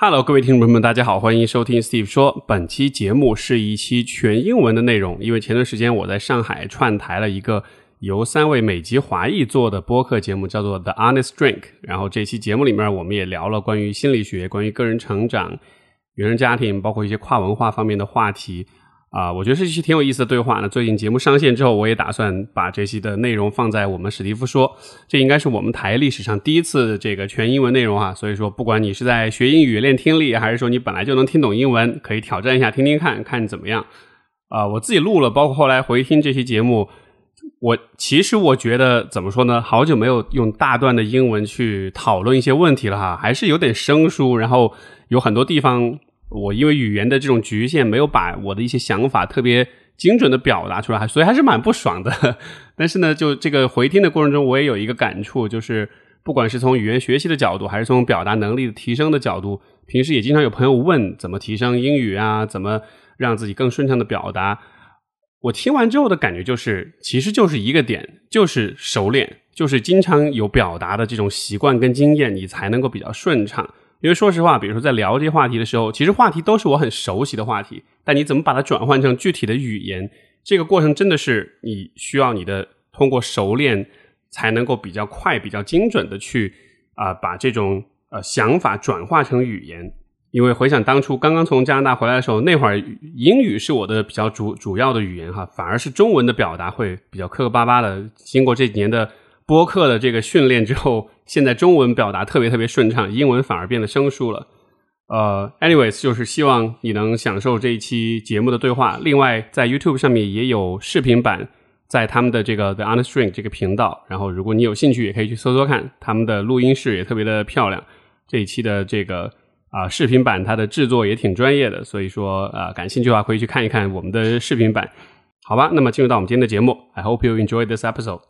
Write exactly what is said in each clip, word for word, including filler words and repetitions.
Hello， 各位听众朋友们，大家好，欢迎收听 Steve 说。本期节目是一期全英文的内容，因为前段时间我在上海串台了一个由三位美籍华裔做的播客节目，叫做 The Honest Drink。然后这期节目里面，我们也聊了关于心理学、关于个人成长、原生家庭，包括一些跨文化方面的话题。啊、呃，我觉得是一期挺有意思的对话呢。最近节目上线之后，我也打算把这期的内容放在我们史蒂夫说，这应该是我们台历史上第一次这个全英文内容啊。所以说，不管你是在学英语练听力，还是说你本来就能听懂英文，可以挑战一下听听看看怎么样。啊、呃，我自己录了，包括后来回听这期节目，我其实我觉得怎么说呢，好久没有用大段的英文去讨论一些问题了哈，还是有点生疏，然后有很多地方我因为语言的这种局限，没有把我的一些想法特别精准的表达出来，所以还是蛮不爽的。但是呢，就这个回听的过程中，我也有一个感触，就是不管是从语言学习的角度，还是从表达能力的提升的角度，平时也经常有朋友问怎么提升英语啊，怎么让自己更顺畅的表达。我听完之后的感觉就是，其实就是一个点，就是熟练，就是经常有表达的这种习惯跟经验，你才能够比较顺畅。因为说实话，比如说在聊这些话题的时候，其实话题都是我很熟悉的话题，但你怎么把它转换成具体的语言，这个过程真的是你需要你的通过熟练才能够比较快比较精准的去啊、呃、把这种呃想法转化成语言。因为回想当初刚刚从加拿大回来的时候，那会儿英语是我的比较主主要的语言哈，反而是中文的表达会比较磕磕巴巴的。经过这几年的播客的这个训练之后，现在中文表达特别特别顺畅，英文反而变得生疏了。呃 anyways 就是希望你能享受这一期节目的对话。另外在 YouTube 上面也有视频版，在他们的这个 The Honest Drink 这个频道，然后如果你有兴趣也可以去搜搜看，他们的录音室也特别的漂亮。这一期的这个啊、呃，视频版它的制作也挺专业的，所以说啊、呃，感兴趣的话可以去看一看我们的视频版。好吧，那么进入到我们今天的节目。 I hope you enjoy this episode。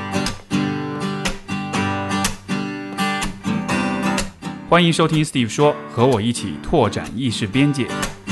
欢迎收听 Steve 说，和我一起拓展意识边界。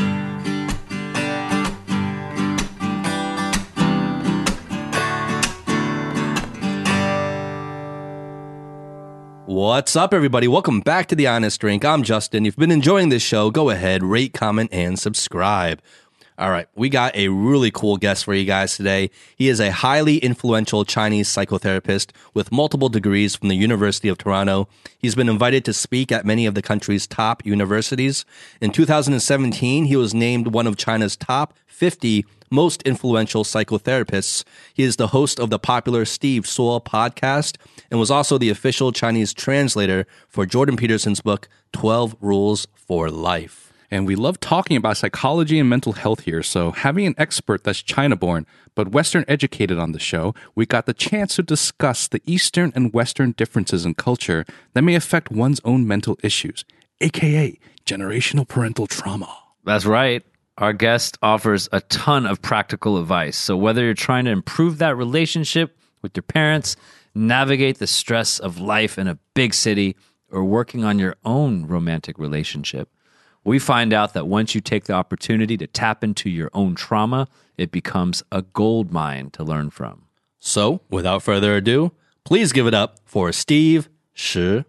What's up, everybody? Welcome back to The Honest Drink. I'm Justin. If you've been enjoying this show, go ahead, rate, comment, and subscribe. All right, we got a really cool guest for you guys today. He is a highly influential Chinese psychotherapist with multiple degrees from the University of Toronto. He's been invited to speak at many of the country's top universities. In two thousand seventeen, he was named one of China's top fifty most influential psychotherapists. He is the host of the popular Steve Suo podcast and was also the official Chinese translator for Jordan Peterson's book, twelve Rules for Life. And we love talking about psychology and mental health here, so having an expert that's China-born but Western-educated on the show, we got the chance to discuss the Eastern and Western differences in culture that may affect one's own mental issues, aka generational parental trauma. That's right. Our guest offers a ton of practical advice. So whether you're trying to improve that relationship with your parents, navigate the stress of life in a big city, or working on your own romantic relationship, we find out that once you take the opportunity to tap into your own trauma, it becomes a gold mine to learn from. So, without further ado, please give it up for Steve Shi.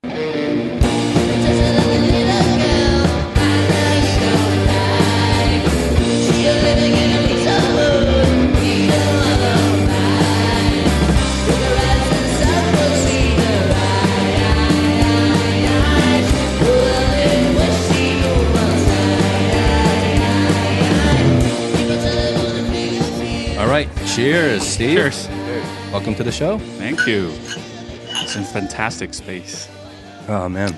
All right, cheers, Steve. Cheers. Welcome to the show. Thank you. It's a fantastic space. Oh, man.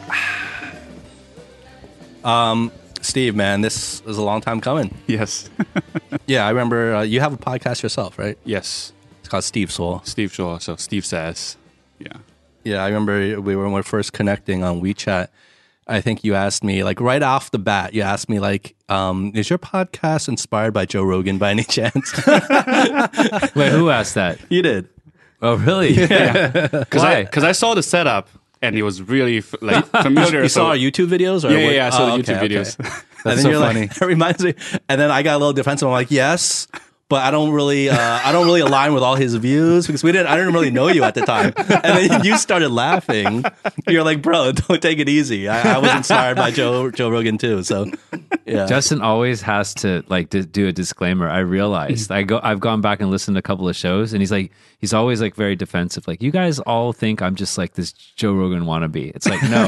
um, Steve, man, this is a long time coming. Yes. Yeah, I remember uh, you have a podcast yourself, right? Yes. It's called Steve Soul. Steve Shaw, so Steve says. Yeah. Yeah, I remember we were, when we were first connecting on WeChat. I think you asked me, like, right off the bat, you asked me, like, um, is your podcast inspired by Joe Rogan by any chance? Wait, who asked that? You did. Oh, really? Yeah. Because I, cause I saw the setup, and it was really f- like familiar. You so, saw our YouTube videos? Or yeah, yeah, what? yeah, I saw oh, the YouTube okay, videos. Okay. That's and then so you're funny. Like, it reminds me. And then I got a little defensive. I'm like, yes, but I don't really, uh, I don't really align with all his views because we didn't, I didn't really know you at the time. And then you started laughing. You're like, bro, don't take it easy. I, I was inspired by Joe Joe Rogan too. So, yeah. Justin always has to like to do a disclaimer. I realized I go, I've gone back and listened to a couple of shows, and he's like, he's always like very defensive. Like, you guys all think I'm just like this Joe Rogan wannabe. It's like, no,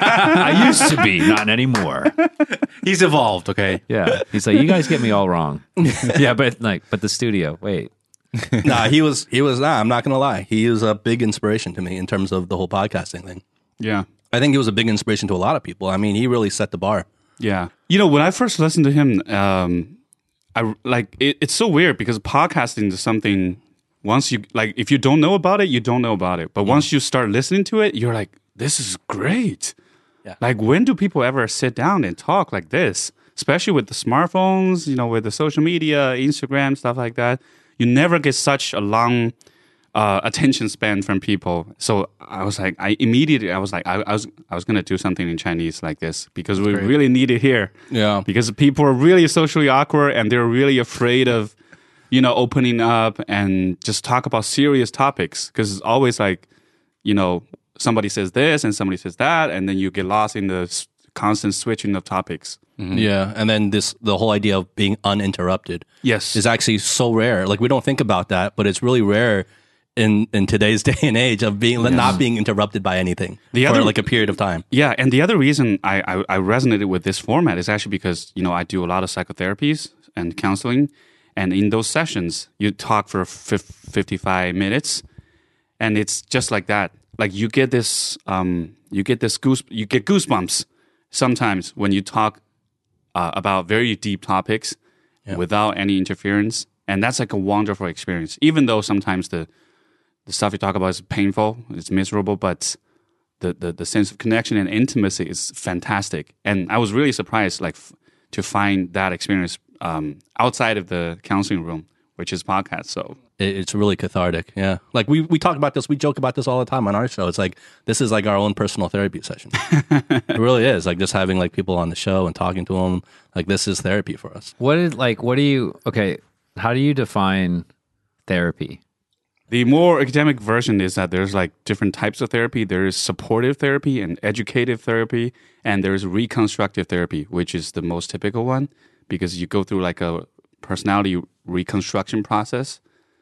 I used to be, not anymore. He's evolved, okay? Yeah, he's like, you guys get me all wrong. Yeah, but like, but the studio, wait. Nah, he was, he was, nah, I'm not going to lie. He was a big inspiration to me in terms of the whole podcasting thing. Yeah. I think he was a big inspiration to a lot of people. I mean, he really set the bar. Yeah. You know, when I first listened to him, um, I like it, it's so weird because podcasting is something once you like, if you don't know about it, you don't know about it. But once you start listening to it, you're like, this is great. Yeah. Like, when do people ever sit down and talk like this? Especially with the smartphones, you know, with the social media, Instagram, stuff like that. You never get such a long uh, attention span from people. So I was like, I immediately, I was like, I, I was, I was gonna do something in Chinese like this because we great. really need it here. Yeah. Because people are really socially awkward and they're really afraid of, you know, opening up and just talk about serious topics. Because it's always like, you know, somebody says this and somebody says that, and then you get lost in the s- constant switching of topics. Mm-hmm. Yeah. And then this, the whole idea of being uninterrupted. Yes. Is actually so rare. Like, we don't think about that, but it's really rare in, in today's day and age of being not being interrupted by anything The for other- like a period of time. Yeah, and the other reason I, I, I resonated with this format is actually because, you know, I do a lot of psychotherapies and counseling, and in those sessions, you talk for fif- fifty-five minutes, and it's just like that. Like, you get this, um, you get this goose, you get goosebumps sometimes when you talk uh, about very deep topics without any interference, and that's like a wonderful experience. Even though sometimes the the stuff you talk about is painful, it's miserable, but the, the, the sense of connection and intimacy is fantastic. And I was really surprised, like, f- to find that experience um, outside of the counseling room, which is podcast. So It, it's really cathartic. Yeah. Like, we, we talk about this, we joke about this all the time on our show. It's like, this is like our own personal therapy session. It really is. Like, just having like people on the show and talking to them, like, this is therapy for us. What is like? What do you? Okay, how do you define therapy? the more academic version is that there's like different types of therapy. There is supportive therapy and educative therapy, and there's reconstructive therapy, which is the most typical one because you go through like a personality reconstruction process.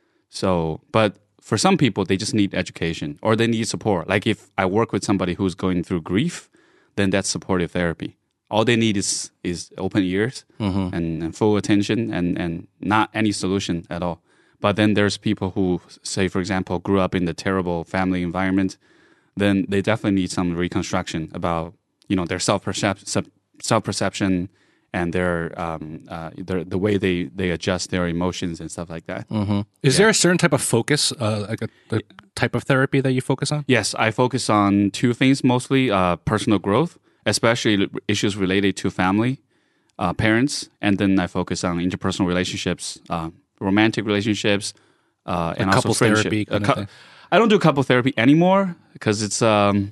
So, but for some people, they just need education or they need support. Like if I work with somebody who's going through grief, then that's supportive therapy. All they need is is open ears mm-hmm. and, and full attention and, and not any solution at all. But then there's people who, say, for example, grew up in the terrible family environment. Then they definitely need some reconstruction about, you know, their self self perception and their um uh their, the way they, they adjust their emotions and stuff like that. Mm-hmm. Is yeah. there a certain type of focus, uh, like a, a type of therapy that you focus on? Yes, I focus on two things mostly: uh, personal growth, especially issues related to family, uh, parents, and then I focus on interpersonal relationships. Uh, romantic relationships, uh, and like also friendship. Therapy kind cu- of thing. I don't do couple therapy anymore because it's, um,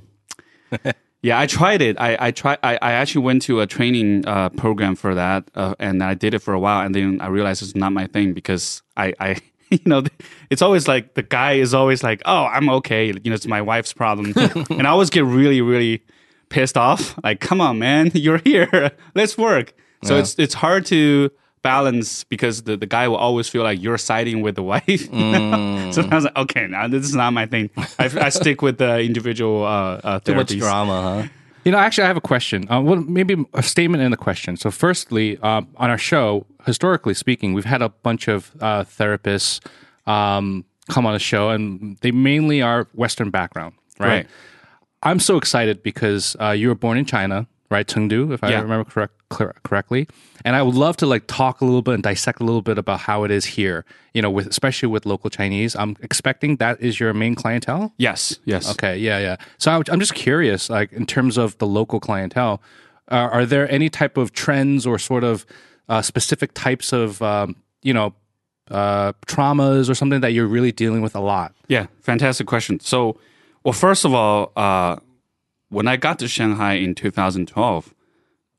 yeah, I tried it. I, I tried, I, I actually went to a training, uh, program for that. Uh, and I did it for a while. And then I realized it's not my thing because I, I, you know, it's always like the guy is always like, oh, I'm okay. You know, it's my wife's problem. And I always get really, really pissed off. Like, come on, man, you're here. Let's work. So yeah. it's, it's hard to balance because the, the guy will always feel like you're siding with the wife. Mm. So I was like, okay, now this is not my thing. I, I stick with the individual uh, uh, therapies. Too much drama, huh? You know, actually, I have a question. Uh, well, maybe a statement and a question. So, firstly, uh, on our show, historically speaking, we've had a bunch of uh, therapists um, come on the show, and they mainly are Western background, right? Right. I'm so excited because uh, you were born in China, right? Chengdu, if I Yeah. remember correct, cor- correctly. And I would love to like talk a little bit and dissect a little bit about how it is here, you know, with especially with local Chinese. I'm expecting that is your main clientele. Yes, yes. Okay, yeah, yeah. So I, I'm just curious, like in terms of the local clientele, uh, are there any type of trends or sort of uh, specific types of, um, you know, uh, traumas or something that you're really dealing with a lot? Yeah, fantastic question. So, well, first of all, uh, when I got to Shanghai in two thousand twelve,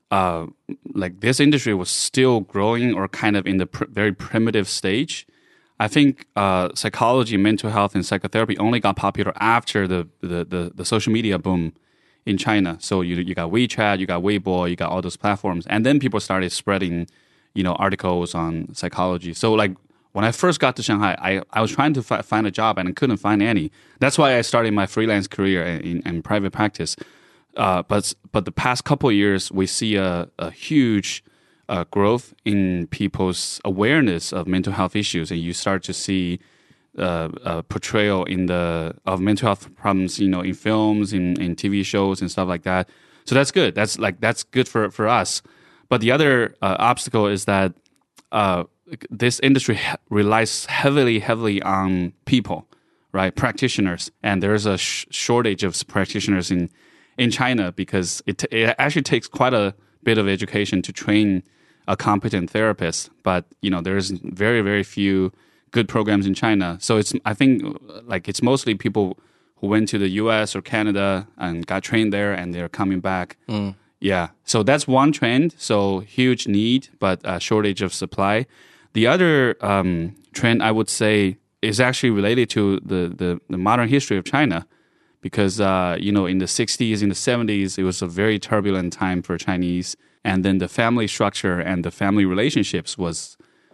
uh, like this industry was still growing or kind of in the pr- very primitive stage. I think uh, psychology, mental health, and psychotherapy only got popular after the, the, the, the social media boom in China. So you you got WeChat, you got Weibo, you got all those platforms, and then people started spreading, you know, articles on psychology. So like when I first got to Shanghai, I, I was trying to fi- find a job and I couldn't find any. That's why I started my freelance career in, in private practice. Uh, but but the past couple of years, we see a, a huge uh, growth in people's awareness of mental health issues, and you start to see uh, a portrayal in the of mental health problems, you know, in films, in, in T V shows, and stuff like that. So that's good. That's like that's good for for us. But the other uh, obstacle is that uh, this industry he- relies heavily, heavily on people, right? Practitioners, and there's a sh- shortage of practitioners in. in China because it, t- it actually takes quite a bit of education to train a competent therapist. But, you know, there's very, very few good programs in China. So it's, I think, like it's mostly people who went to the U S or Canada and got trained there and they're coming back. Mm. Yeah. So that's one trend. So huge need, but a shortage of supply. The other um, trend I would say is actually related to the, the, the modern history of China. Because, uh, you know, in the sixties, in the seventies, it was a very turbulent time for Chinese. And then the family structure and the family relationships was,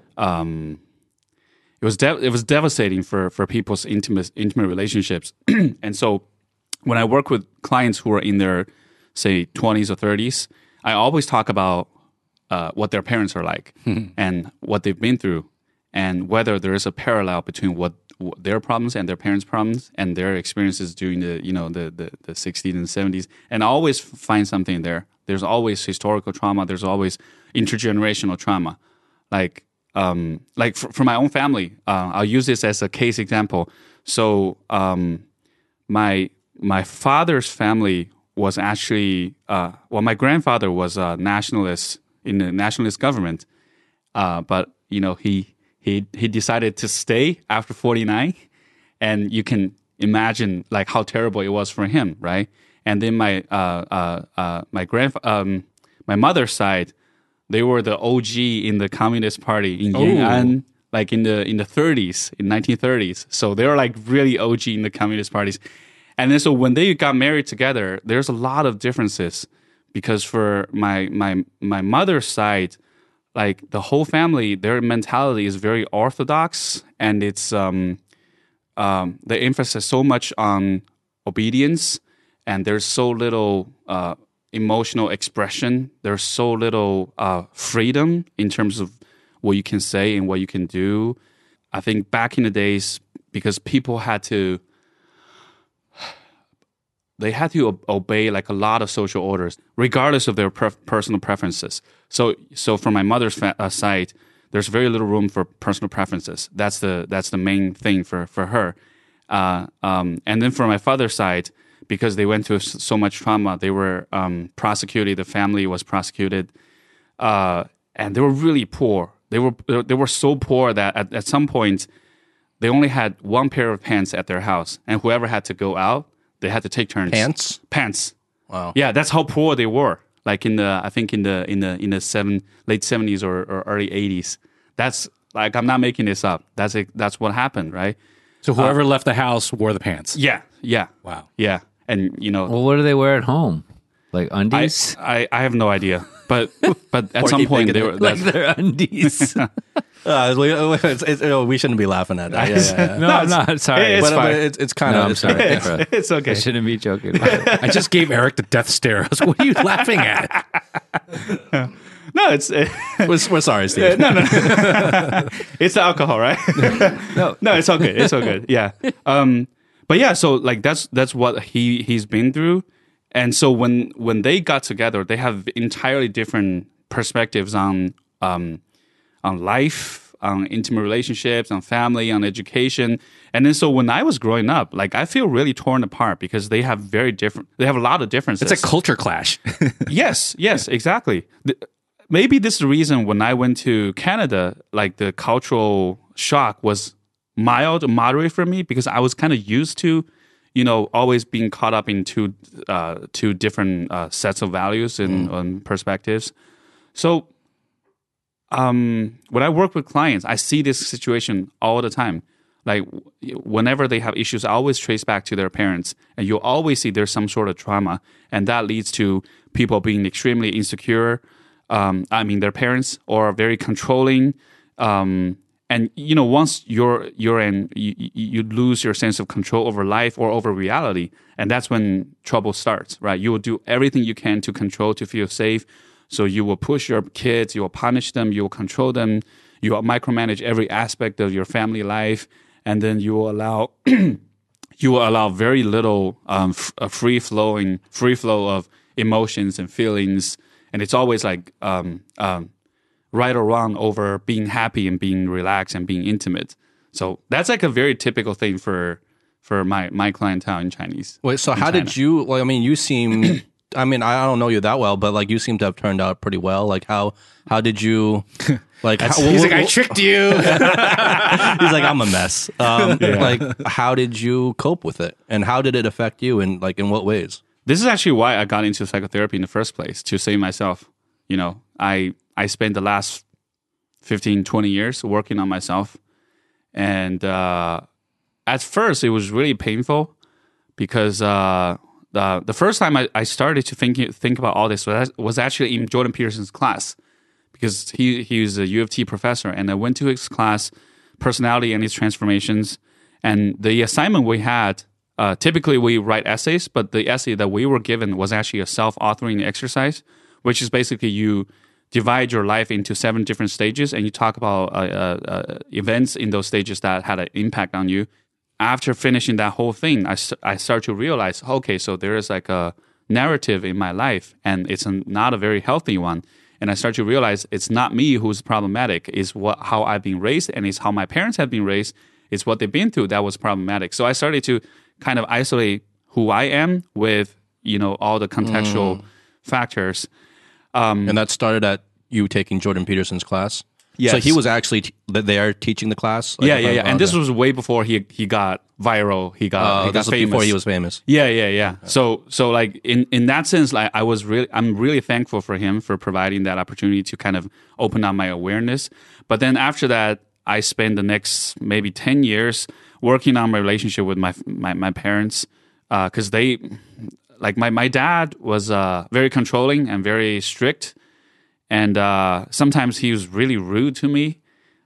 um, it was de- it was devastating for, for people's intimate intimate relationships. And so when I work with clients who are in their, say, twenties or thirties, I always talk about uh, what their parents are like and what they've been through and whether there is a parallel between what their problems and their parents' problems and their experiences during the, you know, the, the, the sixties and seventies. And I always find something there. There's always historical trauma. There's always intergenerational trauma. Like, um, like for, for my own family, uh, I'll use this as a case example. So, um, my, my father's family was actually, uh, well, my grandfather was a nationalist in the nationalist government. Uh, but, you know, he, He he decided to stay after forty-nine, and you can imagine like how terrible it was for him, right? And then my uh uh, uh my grand um my mother's side, they were the O G in the Communist Party in Yan'an, like in the in the thirties, in nineteen thirties. So they were like really O G in the Communist parties. And then so when they got married together, there's a lot of differences because for my my my mother's side, like the whole family, their mentality is very orthodox, and it's um, um, the emphasis so much on obedience, and there's so little uh, emotional expression. There's so little uh, freedom in terms of what you can say and what you can do. I think back in the days, because people had to, they had to o- obey like a lot of social orders, regardless of their pref- personal preferences. So, so from my mother's fa- uh, side, there's very little room for personal preferences. That's the that's the main thing for for her. Uh, um, and then from my father's side, because they went through so much trauma, they were um, prosecuted. The family was prosecuted, uh, and they were really poor. They were they were so poor that at, at some point, they only had one pair of pants at their house, and whoever had to go out, they had to take turns. Pants? Pants. Wow. Yeah, that's how poor they were. Like in the, I think in the in the in the seven late seventies or, or early eighties. That's like I'm not making this up. That's a, that's what happened, right? So whoever uh, left the house wore the pants. Yeah, yeah. Wow. Yeah, and you know. Well, what do they wear at home? Like undies? I I, I have no idea, but but at some point they were like their undies. Uh, it's, it's, oh, we shouldn't be laughing at that. Yeah, yeah, yeah. no, no, I'm not. Sorry. It's but, fine. but it's, it's kind no, of. I'm It's, sorry. It's, it's okay. I shouldn't be joking about it. I just gave Eric the death stare. I was, what are you laughing at? No, it's uh, we're, we're sorry, Steve. no, no, no. It's the alcohol, right? No, no, it's okay. It's all good. Yeah. Um, but yeah, so like that's that's what he he's been through, and so when when they got together, they have entirely different perspectives on um on life, on intimate relationships, on family, on education. And then so when I was growing up, like I feel really torn apart because they have very different, they have a lot of differences. It's a culture clash. Yes, yes, exactly. The, maybe this is the reason when I went to Canada, like the cultural shock was mild, moderate for me because I was kind of used to, you know, always being caught up in two uh, two different uh, sets of values and Mm. um, perspectives. So, um, when I work with clients, I see this situation all the time. Like w- whenever they have issues, I always trace back to their parents, and you'll always see there's some sort of trauma, and that leads to people being extremely insecure. Um, I mean, their parents or very controlling. Um, and you know, once you're you're in, you, you lose your sense of control over life or over reality, and that's when trouble starts. Right? You will do everything you can to control, to feel safe. So you will push your kids, you will punish them, you will control them, you will micromanage every aspect of your family life, and then you will allow you will allow very little um, f- a free flowing free flow of emotions and feelings, and it's always like um, um, right or wrong over being happy and being relaxed and being intimate. So that's like a very typical thing for for my my clientele in Chinese. Wait, so in how China. did you, like, I mean, you seem, I mean, I don't know you that well, but like you seem to have turned out pretty well. Like how, how did you, like, how, He's what- like, I what- tricked you. he's like, I'm a mess. Um, Like, how did you cope with it? And how did it affect you? And like, in what ways? This is actually why I got into psychotherapy in the first place, to save myself. You know, I I spent the last fifteen, twenty years working on myself. And uh, at first, it was really painful because uh, the the first time I, I started to think think about all this was, was actually in Jordan Peterson's class, because he he was a U of T professor, and I went to his class, Personality and Its Transformations, and the assignment we had, uh, typically we write essays, but the essay that we were given was actually a self-authoring exercise, which is basically you divide your life into seven different stages, and you talk about uh, uh, uh, events in those stages that had an impact on you. After finishing that whole thing, I, st- I start to realize, okay, so there is like a narrative in my life, and it's a, not a very healthy one. And I start to realize it's not me who's problematic. It's what how I've been raised, and it's how my parents have been raised. It's what they've been through that was problematic. So I started to kind of isolate who I am with, you know, all the contextual factors. And that started at you taking Jordan Peterson's class? Yes. So he was actually t- there teaching the class? Like, Yeah, if yeah, I- yeah. And okay. this was way before he he got viral. He got, Uh, he got this was famous. before he was famous. Yeah, yeah, yeah. So, so like in, in that sense, like I was really, I'm really thankful for him for providing that opportunity to kind of open up my awareness. But then after that, I spent the next maybe ten years working on my relationship with my my, my parents, because uh, they, like my my dad was uh, very controlling and very strict, and uh, sometimes he was really rude to me.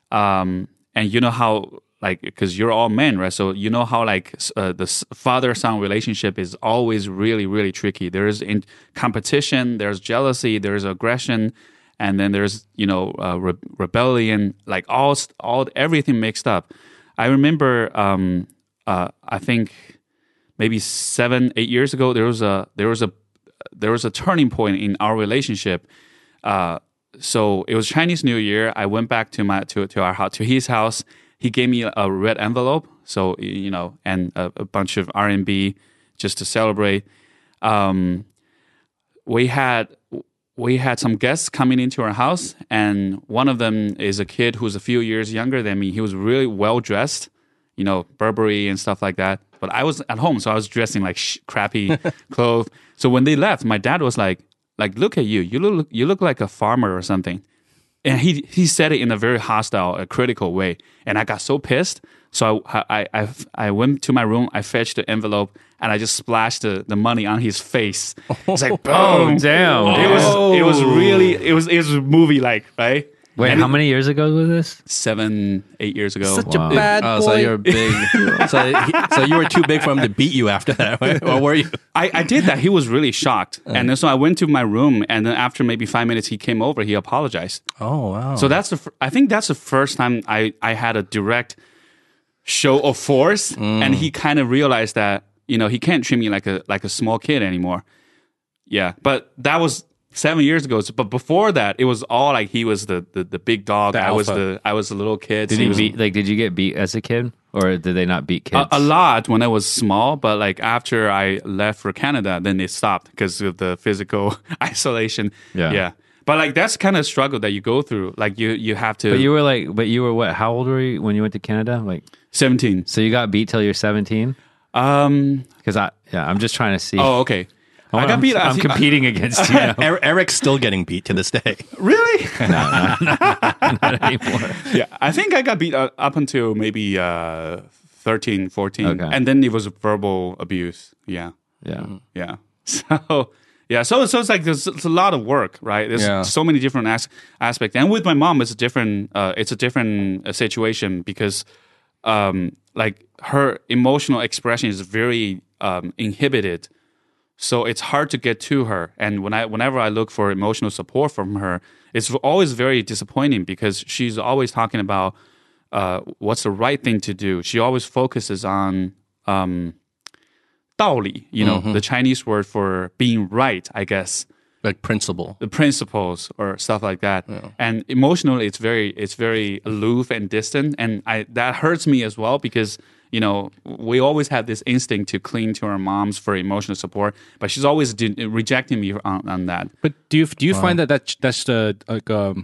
Um, and you know how, like, because you're all men, right? So you know how, like, uh, the father-son relationship is always really, really tricky. There is in competition, there's jealousy, there's aggression, and then there's, you know, uh, re- rebellion, like all, all, everything mixed up. I remember, um, uh, I think maybe seven, eight years ago, there was a, there was a, there was a turning point in our relationship. Uh, So it was Chinese New Year. I went back to my to to our house, to his house. He gave me a red envelope, so you know, and a, a bunch of R and B just to celebrate. Um, we had we had some guests coming into our house, and one of them is a kid who's a few years younger than me. He was really well dressed, you know, Burberry and stuff like that. But I was at home, so I was dressing like sh- crappy clothes. So when they left, my dad was like. Like, look at you. You look you look like a farmer or something. And he he said it in a very hostile, a critical way. And I got so pissed. So I I I, I went to my room. I fetched the envelope and I just splashed the, the money on his face. It's like boom. Oh, damn. It was it was really it was it was movie like, right? Wait, And how it- many years ago was this? Seven, eight years ago. Such Wow. a bad Oh, boy. so you're big. so, he, so you were too big for him to beat you after that, right? Or were you? I, I did that. He was really shocked. And then so I went to my room, and then after maybe five minutes, he came over. He apologized. Oh, wow. So that's the. fir- I think that's the first time I, I had a direct show of force, and he kind of realized that you know he can't treat me like a like a small kid anymore. Yeah, but that was seven years ago. So, but before that, it was all like he was the the, the big dog. The I was alpha. the I was the little kid. Did So you was- beat? Like, did you get beat as a kid, or did they not beat kids? a, a lot when I was small, but like after I left for Canada, then it stopped because of the physical isolation. Yeah. yeah. But like that's kind of struggle that you go through. Like you you have to. But you were like, but you were what? How old were you when you went to Canada? Like, seventeen. so you got beat till you're seventeen. Um. Because I, yeah, I'm just trying to see. Oh, okay. I I'm, got beat. I I'm think- competing against you now. Er- Eric's still getting beat to this day. Really? Not anymore. Yeah, I think I got beat uh, up until maybe uh, thirteen, fourteen. Okay. And then it was verbal abuse. Yeah, Yeah. yeah. So, yeah, so, so it's like there's it's a lot of work, right? There's Yeah. so many different as- aspects. And with my mom, it's a different, uh, it's a different uh, situation because um, like her emotional expression is very um, inhibited. So it's hard to get to her. And when I, whenever I look for emotional support from her, it's always very disappointing because she's always talking about uh, what's the right thing to do. She always focuses on um, 道理, you know, the Chinese word for being right, I guess, Like principle. the principles or stuff like that. And emotionally, it's very, it's very aloof and distant. And I, that hurts me as well because, you know, we always have this instinct to cling to our moms for emotional support, but she's always de- rejecting me on, on that. But do you do you find that that that's the like um,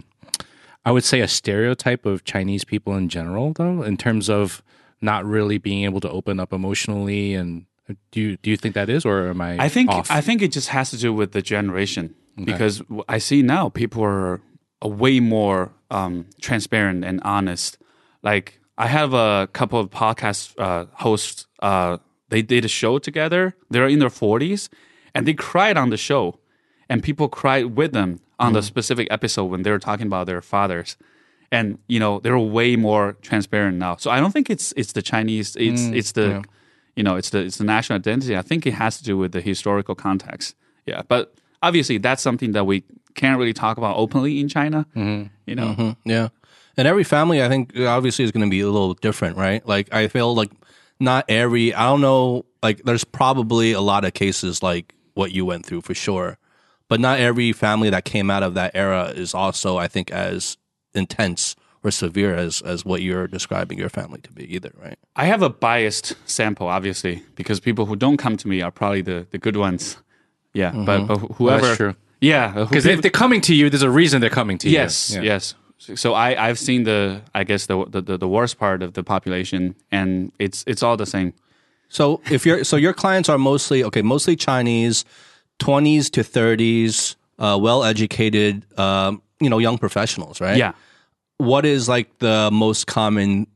I would say a stereotype of Chinese people in general, though, in terms of not really being able to open up emotionally, and do you do you think that is, or am I? I think off? I think it just has to do with the generation because I see now people are, are way more um, transparent and honest. Like I have a couple of podcast uh, hosts. Uh, they did a show together. They're in their forties, and they cried on the show, and people cried with them on the specific episode when they were talking about their fathers. And you know they're way more transparent now. So I don't think it's it's the Chinese. It's it's the you know it's the it's the national identity. I think it has to do with the historical context. Yeah, but obviously that's something that we can't really talk about openly in China. You know. Mm, yeah. And every family, I think, obviously is going to be a little different, right? Like, I feel like not every, I don't know, like, there's probably a lot of cases like what you went through for sure. But not every family that came out of that era is also, I think, as intense or severe as, as what you're describing your family to be either, right? I have a biased sample, obviously, because people who don't come to me are probably the, the good ones. Yeah, but, but whoever, that's true. yeah, who Because people- if they're coming to you, there's a reason they're coming to yes, you. Yeah. yes. So I I've seen the I guess the, the the worst part of the population, and it's it's all the same. So if you're, so your clients are mostly, okay, mostly Chinese, twenties to thirties, uh, well-educated, um, you know, young professionals, right? Yeah. What is like the most common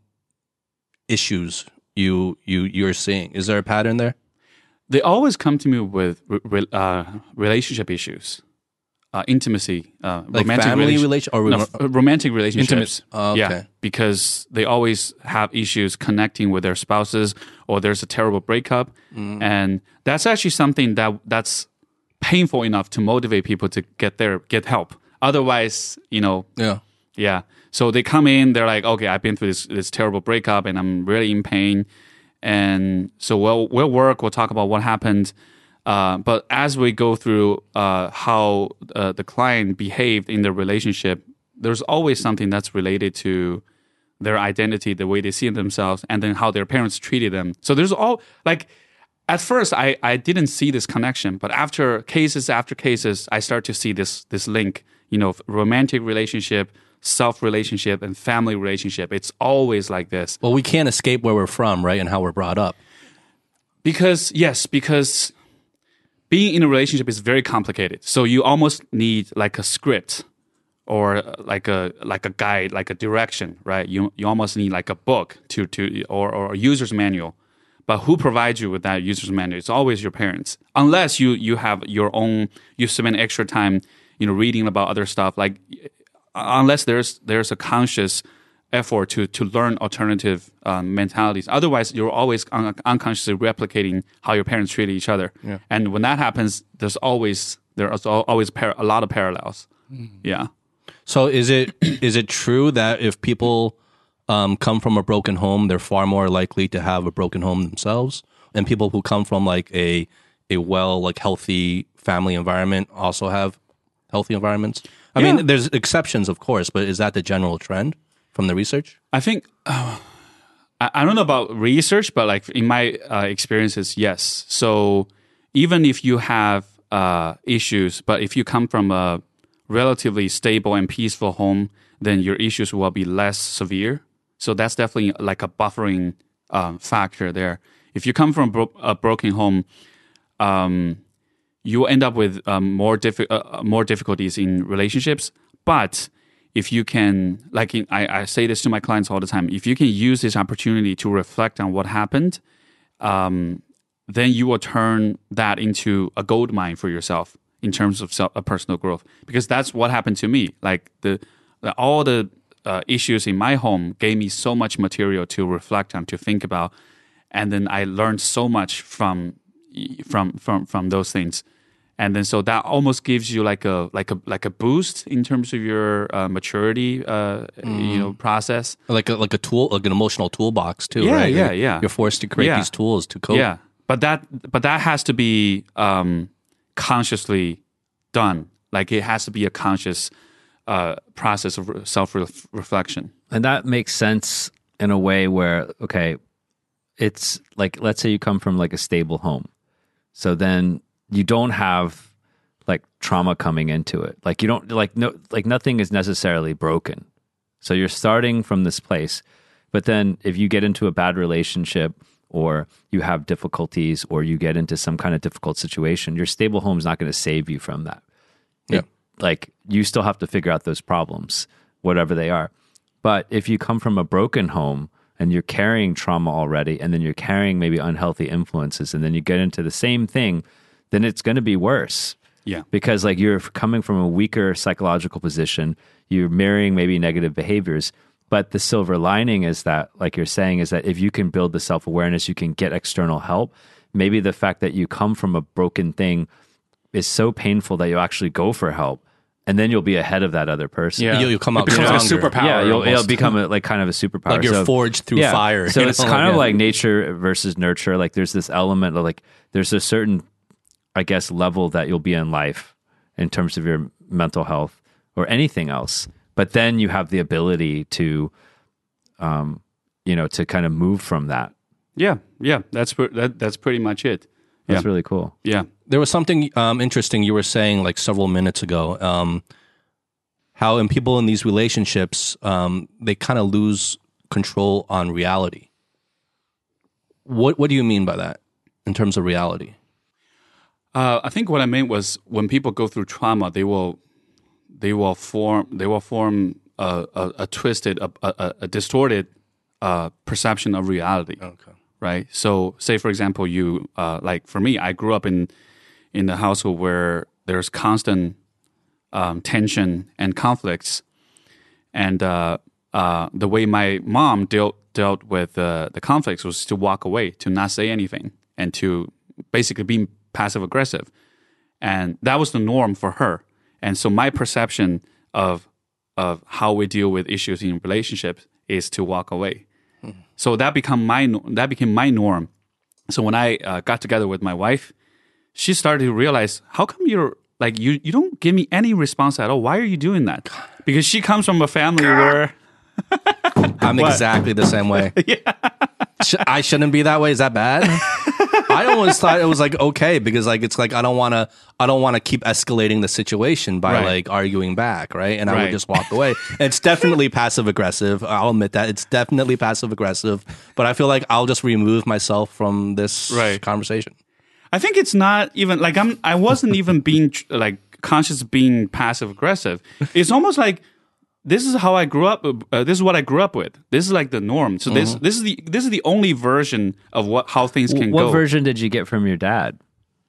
issues you you you're seeing? Is there a pattern there? They always come to me with re- re- uh, relationship issues, uh, intimacy, uh, Like romantic family relation- relation or no, remo- f- romantic relationships. Oh, okay. Yeah, because they always have issues connecting with their spouses, or there's a terrible breakup, Mm. and that's actually something that that's painful enough to motivate people to get their get help. Otherwise, you know, Yeah. yeah. So they come in, they're like, okay, I've been through this this terrible breakup and I'm really in pain. And so we'll we'll work, we'll talk about what happened. Uh, but as we go through uh, how uh, the client behaved in the relationship, there's always something that's related to their identity, the way they see themselves, and then how their parents treated them. So there's all like at first I, I didn't see this connection, but after cases after cases, I start to see this this link, you know, romantic relationship, self relationship, and family relationship. It's always like this. Well, we can't escape where we're from, right, and how we're brought up. Because, yes, because being in a relationship is very complicated. So you almost need like a script or uh, like a like a guide, like a direction, right? You you almost need like a book to to or, or a user's manual. But who provides you with that user's manual? It's always your parents. Unless you you have your own, you spend extra time, you know, reading about other stuff. Like unless there's there's a conscious effort to to learn alternative um, mentalities. Otherwise, you're always un- unconsciously replicating how your parents treated each other. Yeah. And when that happens, there's always there's always par- a lot of parallels. Mm. Yeah. So is it is it true that if people um, come from a broken home, they're far more likely to have a broken home themselves, and people who come from like a a well like healthy family environment also have healthy environments? I Yeah. mean, there's exceptions, of course, but is that the general trend from the research? I think uh, I, I don't know about research, but like in my uh, experiences, yes. So even if you have uh, issues, but if you come from a relatively stable and peaceful home, then your issues will be less severe. So that's definitely like a buffering um, factor there. If you come from a, bro- a broken home, um, you end up with um, more diffi- uh, more difficulties in relationships. But if you can, like in, I, I say this to my clients all the time, if you can use this opportunity to reflect on what happened, um, then you will turn that into a gold mine for yourself in terms of self, uh, personal growth. Because that's what happened to me. Like the, the all the uh, issues in my home gave me so much material to reflect on, to think about, and then I learned so much from from from from those things. And then so that almost gives you like a like a like a boost in terms of your uh, maturity, uh, mm. you know, process. Like a like a tool, like an emotional toolbox too, yeah, right? Yeah, you're, yeah. You're forced to create yeah. these tools to cope. Yeah, but that but that has to be um, consciously done. Like it has to be a conscious uh, process of self reflection. And that makes sense in a way where, okay, it's like, let's say you come from like a stable home, so then you don't have like trauma coming into it. Like you don't like no like nothing is necessarily broken. So you're starting from this place. But then if you get into a bad relationship or you have difficulties or you get into some kind of difficult situation, your stable home is not going to save you from that. Yeah. It, like you still have to figure out those problems, whatever they are. But if you come from a broken home and you're carrying trauma already, and then you're carrying maybe unhealthy influences, and then you get into the same thing, then it's going to be worse. Yeah. Because like you're coming from a weaker psychological position, you're mirroring maybe negative behaviors. But the silver lining is that, like you're saying, is that if you can build the self-awareness, you can get external help. Maybe the fact that you come from a broken thing is so painful that you'll actually go for help. And then you'll be ahead of that other person. Yeah. You'll, you'll come out it becomes stronger. like a superpower. Yeah, you'll, it'll almost. become a, like kind of a superpower. Like you're So- forged through yeah. fire. So you it's know? kind of Yeah. like nature versus nurture. Like there's this element of like, there's a certain, I guess, level that you'll be in life in terms of your mental health or anything else. But then you have the ability to, um, you know, to kind of move from that. Yeah, yeah. That's pre- that, that's pretty much it. That's Yeah. really cool. Yeah. There was something um, interesting you were saying like several minutes ago. Um, how in people in these relationships, um, they kind of lose control on reality. What What do you mean by that in terms of reality? Uh, I think what I meant was when people go through trauma, they will they will form they will form a, a, a twisted, a, a, a distorted uh, perception of reality. Okay. Right. So, say for example, you uh, like for me, I grew up in in a household where there's constant um, tension and conflicts, and uh, uh, the way my mom dealt dealt with uh, the conflicts was to walk away, to not say anything, and to basically be passive aggressive, and that was the norm for her. And so, my perception of of how we deal with issues in relationships is to walk away. So that become my that became my norm. So when I uh, got together with my wife, she started to realize, how come you're like you you don't give me any response at all? Why are you doing that? Because she comes from a family where I'm exactly the same way. Yeah. Sh- I shouldn't be that way. Is that bad? I always thought it was like okay because like it's like I don't want to I don't want to keep escalating the situation by Right. like arguing back, right? And I Right. would just walk away. It's definitely passive aggressive. I'll admit that it's definitely passive aggressive. But I feel like I'll just remove myself from this Right. conversation. I think it's not even like I'm I wasn't even being like conscious of being passive aggressive. It's almost like this is how I grew up. Uh, this is what I grew up with. This is like the norm. So this this is the this is the only version of what how things can What go. version did you get from your dad?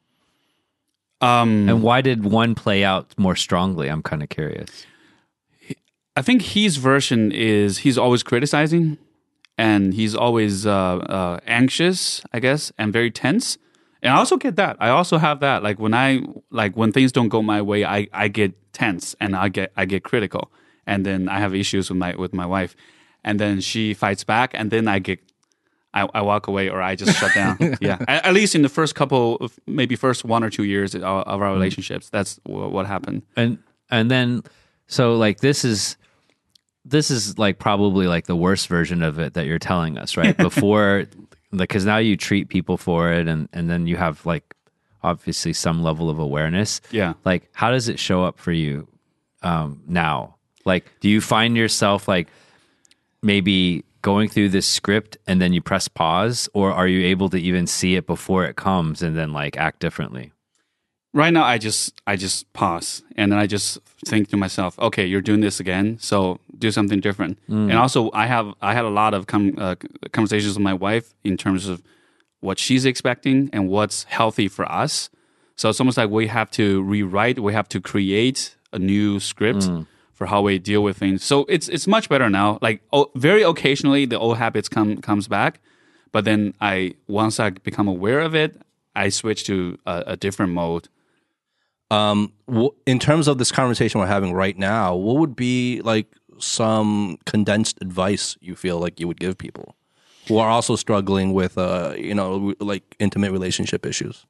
Um, And why did one play out more strongly? I'm kind of curious. I think his version is he's always criticizing, and he's always uh, uh, anxious, I guess, and very tense. And I also get that. I also have that. Like when I like when things don't go my way, I, I get tense and I get I get critical, and then I have issues with my with my wife, and then she fights back, and then I get I, I walk away or I just shut down. Yeah, at, at least in the first couple, of, maybe first one or two years of, of our relationships, that's what, what happened. And and then so like this is this is like probably like the worst version of it that you're telling us, right? Before, like, because now you treat people for it, and and then you have like obviously some level of awareness. Yeah. Like, how does it show up for you um, now? Like, do you find yourself like maybe going through this script and then you press pause, or are you able to even see it before it comes and then like act differently? Right now, I just I just pause and then I just think to myself, okay, you're doing this again, so do something different. And also, I have I had a lot of com- uh, conversations with my wife in terms of what she's expecting and what's healthy for us. So it's almost like we have to rewrite, we have to create a new script mm. for how we deal with things. So it's it's much better now. Like oh, very occasionally, the old habits come comes back, but then I once I become aware of it, I switch to a, a different mode. Um, w- in terms of this conversation we're having right now, what would be like some condensed advice you feel like you would give people who are also struggling with, uh, you know, like intimate relationship issues?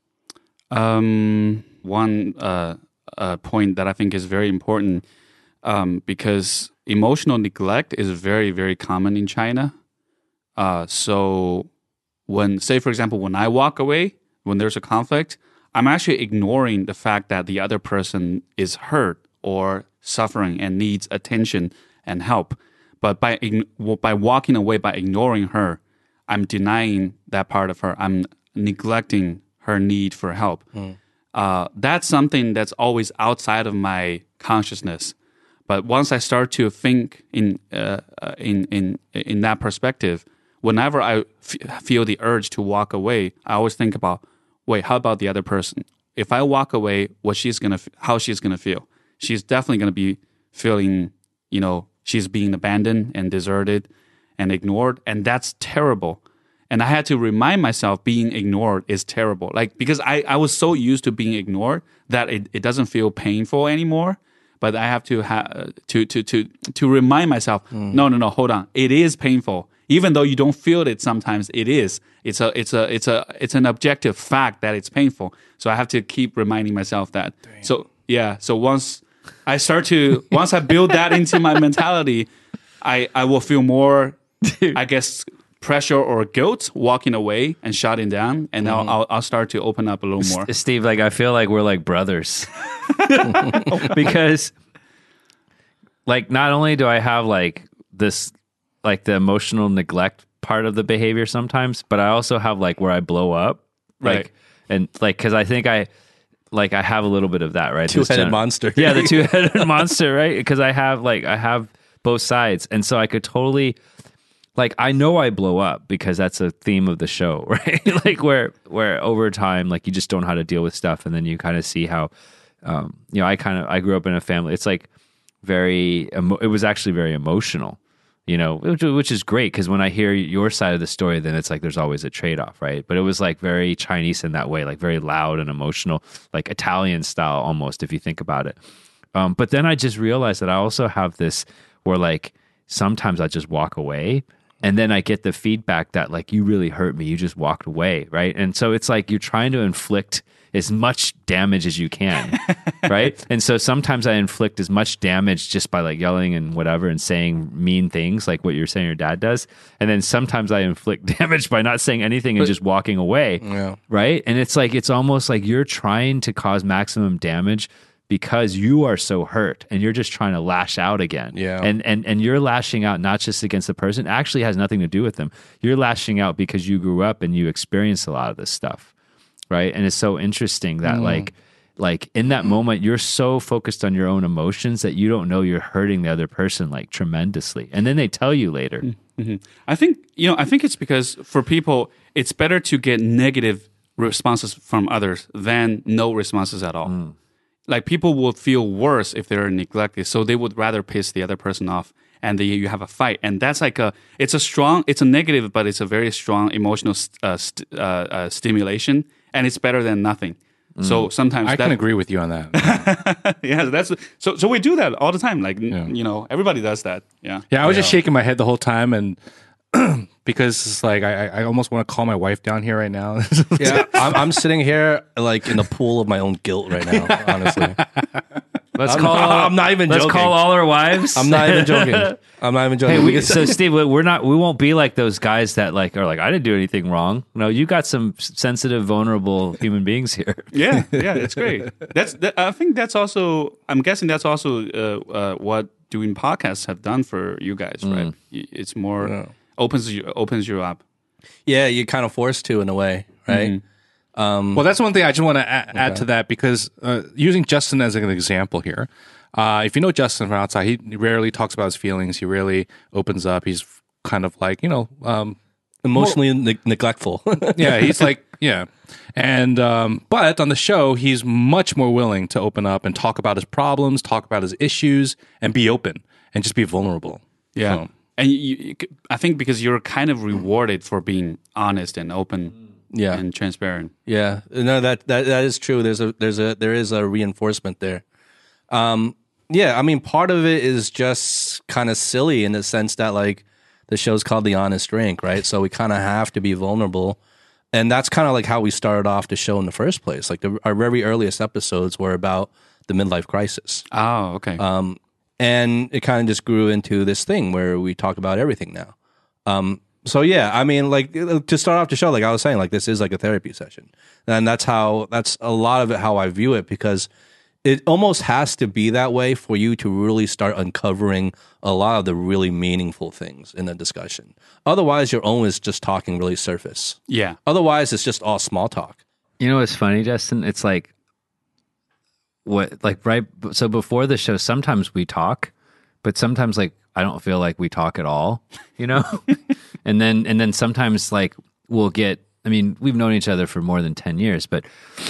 Um, one uh, uh, point that I think is very important, um, because emotional neglect is very, very common in China. Uh, so when, say, for example, when I walk away, when there's a conflict, I'm actually ignoring the fact that the other person is hurt or suffering and needs attention and help. But by by walking away, by ignoring her, I'm denying that part of her. I'm neglecting her need for help. Mm. Uh, that's something that's always outside of my consciousness. But once I start to think in uh, in in in that perspective, whenever I f- feel the urge to walk away, I always think about, wait, how about the other person? If I walk away, what she's gonna, how she's gonna feel? She's definitely gonna be feeling, you know, she's being abandoned and deserted and ignored, and that's terrible. And I had to remind myself being ignored is terrible. Like, because I, I was so used to being ignored that it, it doesn't feel painful anymore. But I have to ha- to to to to remind myself, mm. no, no, no, hold on. It is painful. Even though you don't feel it sometimes, it is. It's a it's a it's a it's an objective fact that it's painful. So I have to keep reminding myself that. Damn. So yeah, so once I start to once I build that into my mentality, I I will feel more, Dude. I guess, pressure or guilt walking away and shutting down, and mm. I'll, I'll I'll start to open up a little more. Steve, like I feel like we're like brothers because, like, not only do I have like this, like the emotional neglect part of the behavior sometimes, but I also have like where I blow up, like, right. and like because I think I. Like I have a little bit of that, right? Two-headed gen- monster. Yeah, the two-headed monster, right? Because I have like I have both sides, and so I could totally, like, I know I blow up because that's a theme of the show, right? Like where where over time, like you just don't know how to deal with stuff, and then you kind of see how, um, you know, I kind of I grew up in a family. It's like very, emo- it was actually very emotional. You know, which, which is great because when I hear your side of the story, then it's like there's always a trade-off, right? But it was like very Chinese in that way, like very loud and emotional, like Italian style almost, if you think about it. Um, but then I just realized that I also have this where like sometimes I just walk away and then I get the feedback that like, you really hurt me. You just walked away, right? And so it's like you're trying to inflict as much damage as you can, right? And so sometimes I inflict as much damage just by like yelling and whatever and saying mean things like what you're saying your dad does. And then sometimes I inflict damage by not saying anything and but, just walking away, yeah. right? And it's like, it's almost like you're trying to cause maximum damage because you are so hurt and you're just trying to lash out again. Yeah. And, and, and you're lashing out not just against the person, it actually has nothing to do with them. You're lashing out because you grew up and you experienced a lot of this stuff. Right. And it's so interesting that mm. like, like in that moment, you're so focused on your own emotions that you don't know you're hurting the other person like tremendously. And then they tell you later. Mm-hmm. I think, you know, I think it's because for people, it's better to get negative responses from others than no responses at all. Mm. Like people will feel worse if they're neglected. So they would rather piss the other person off and the, you have a fight. And that's like a, it's a strong, it's a negative, but it's a very strong emotional uh, st- uh, uh, stimulation. And it's better than nothing. Mm. So sometimes I that, can agree with you on that. yeah, that's so. So we do that all the time. Like yeah. you know, everybody does that. Yeah. Yeah, I was yeah. just shaking my head the whole time, and because it's like I, I almost want to call my wife down here right now. yeah, I'm, I'm sitting here like in the pool of my own guilt right now. Honestly. Let's I'm call. Not, I'm not even let's joking. Let's call all our wives. I'm not even joking. I'm not even joking. Hey, we, so Steve, we're not. We won't be like those guys that like are like, I didn't do anything wrong. No, you got some sensitive, vulnerable human beings here. Yeah, yeah, that's great. That's. That, I think that's also. I'm guessing that's also uh, uh, what doing podcasts have done for you guys, right? Mm. It's more. Yeah. opens you opens you up. Yeah, you're kind of forced to in a way, right? Well, that's one thing I just want to add, add to that because uh, using Justin as an example here, uh, if you know Justin from outside, he rarely talks about his feelings. He rarely opens up. He's kind of like, you know, um, Emotionally ne- neglectful. yeah, he's like, yeah. And, um, but on the show, he's much more willing to open up and talk about his problems, talk about his issues, and be open and just be vulnerable. Yeah. So, And you, you, I think because you're kind of rewarded for being honest and open Yeah. and transparent. Yeah, no, that that that is true. There's a there's a there is a reinforcement there. Um, yeah, I mean, part of it is just kind of silly in the sense that like the show's called The Honest Drink, right? So we kind of have to be vulnerable, and that's kind of like how we started off the show in the first place. Like the, our very earliest episodes were about the midlife crisis, Oh, okay. um, and it kind of just grew into this thing where we talk about everything now. Um, So yeah, I mean, like to start off the show, like I was saying, like this is like a therapy session, and that's how that's a lot of it how I view it because it almost has to be that way for you to really start uncovering a lot of the really meaningful things in a discussion. Otherwise, you're always just talking really surface. yeah. Otherwise, it's just all small talk. You know what's funny, Justin? It's like what like right so before the show sometimes we talk, but sometimes like I don't feel like we talk at all, you know? and then and then sometimes like we'll get I mean, we've known each other for more than ten years, but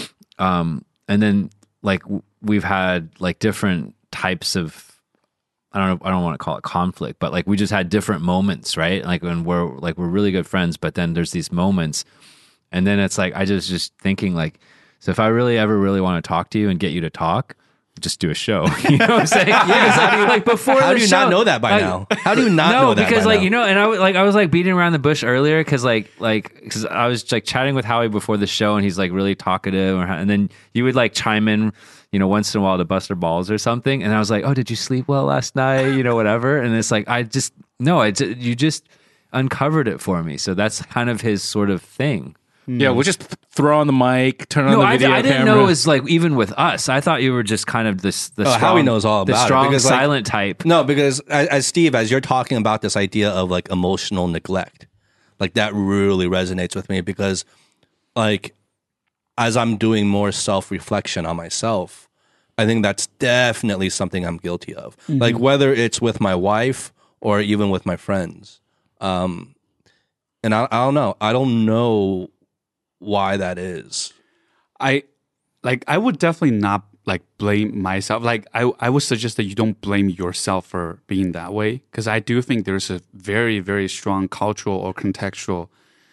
um and then like w- we've had like different types of I don't know I don't want to call it conflict, but like we just had different moments, right? Like when we're like we're really good friends, but then there's these moments and then it's like I just just thinking like so if I really ever really want to talk to you and get you to talk, just do a show. You know what I'm saying? Yeah. I mean, like before How the do you show, not know that by like, now? How do you not no, know that because by like now? you know, and I was like I was like beating around the bush earlier because like like because I was like chatting with Howie before the show and he's like really talkative, or, and then you would like chime in, you know, once in a while to bust our balls or something, and I was like, oh, did you sleep well last night? You know, whatever, and it's like I just no, I ju- you just uncovered it for me, so that's kind of his sort of thing. yeah, we'll just throw on the mic, turn on No, the I, video I didn't camera. know it was like even with us. I thought you were just kind of this the Oh, strong, Howie knows all the about it, strong because, like- silent type. No, because as, as Steve, as you're talking about this idea of like emotional neglect, like that really resonates with me because, like, as I'm doing more self reflection on myself, I think that's definitely something I'm guilty of. Like whether it's with my wife or even with my friends, um, and I, I don't know. I don't know why that is. I like I would definitely not like blame myself. Like I I would suggest that you don't blame yourself for being that way because I do think there's a very very strong cultural or contextual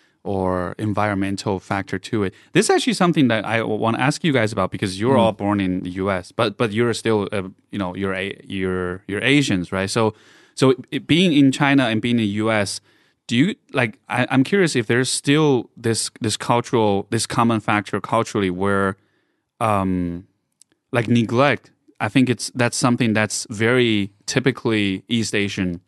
or environmental factor to it. This is actually something that I want to ask you guys about because you're all born in the U S, but but you're still uh, you know you're a, you're you're Asians, right? So so it, being in China and being in the U S, do you like? I, I'm curious if there's still this this cultural this common factor culturally where, um, like neglect. I think it's that's something that's very typically East Asian,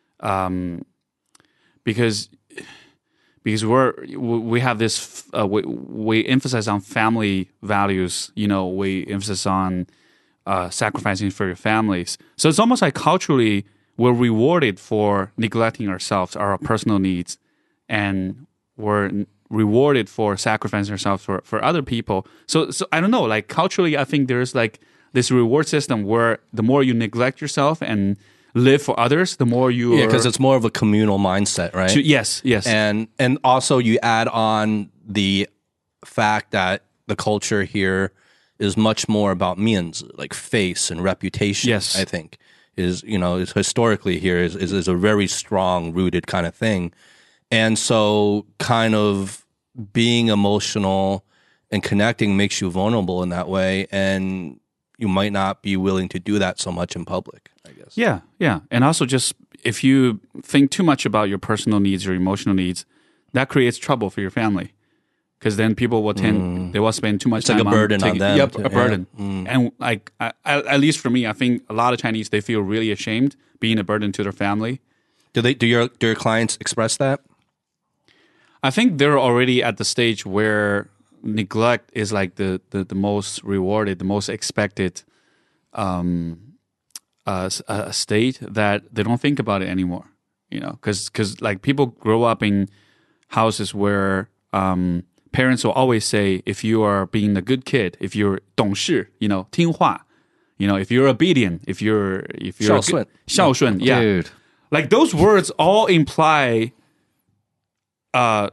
um, because because we're we have this uh, we we emphasize on family values. You know, we emphasize on uh, sacrificing for your families. So it's almost like culturally, we're rewarded for neglecting ourselves, our personal needs, and we're rewarded for sacrificing ourselves for, for other people. So, so I don't know, like culturally, I think there's like this reward system where the more you neglect yourself and live for others, the more you Yeah, are- because it's more of a communal mindset, right? to- yes, yes, and and also you add on the fact that the culture here is much more about means, like face and reputation. Yes. I think is you know is historically here is, is is a very strong rooted kind of thing, and so kind of being emotional and connecting makes you vulnerable in that way, and you might not be willing to do that so much in public, I guess. yeah, yeah. And also just if you think too much about your personal needs or emotional needs, that creates trouble for your family. Because then people will tend, they will spend too much It's like time a burden on taking, them Yep, too, a burden. yeah. Mm. And like, I, I, at least for me, I think a lot of Chinese, they feel really ashamed being a burden to their family. Do they do your do your clients express that? I think they're already at the stage where neglect is like the, the, the most rewarded, the most expected um, uh, s- uh, state that they don't think about it anymore. you know, because because like people grow up in houses where um, parents will always say, if you are being a good kid, if you're 懂事, you know, 听话, you know, if you're obedient, if you're if you're 孝顺. 孝顺, yeah, Dude. like those words all imply, uh,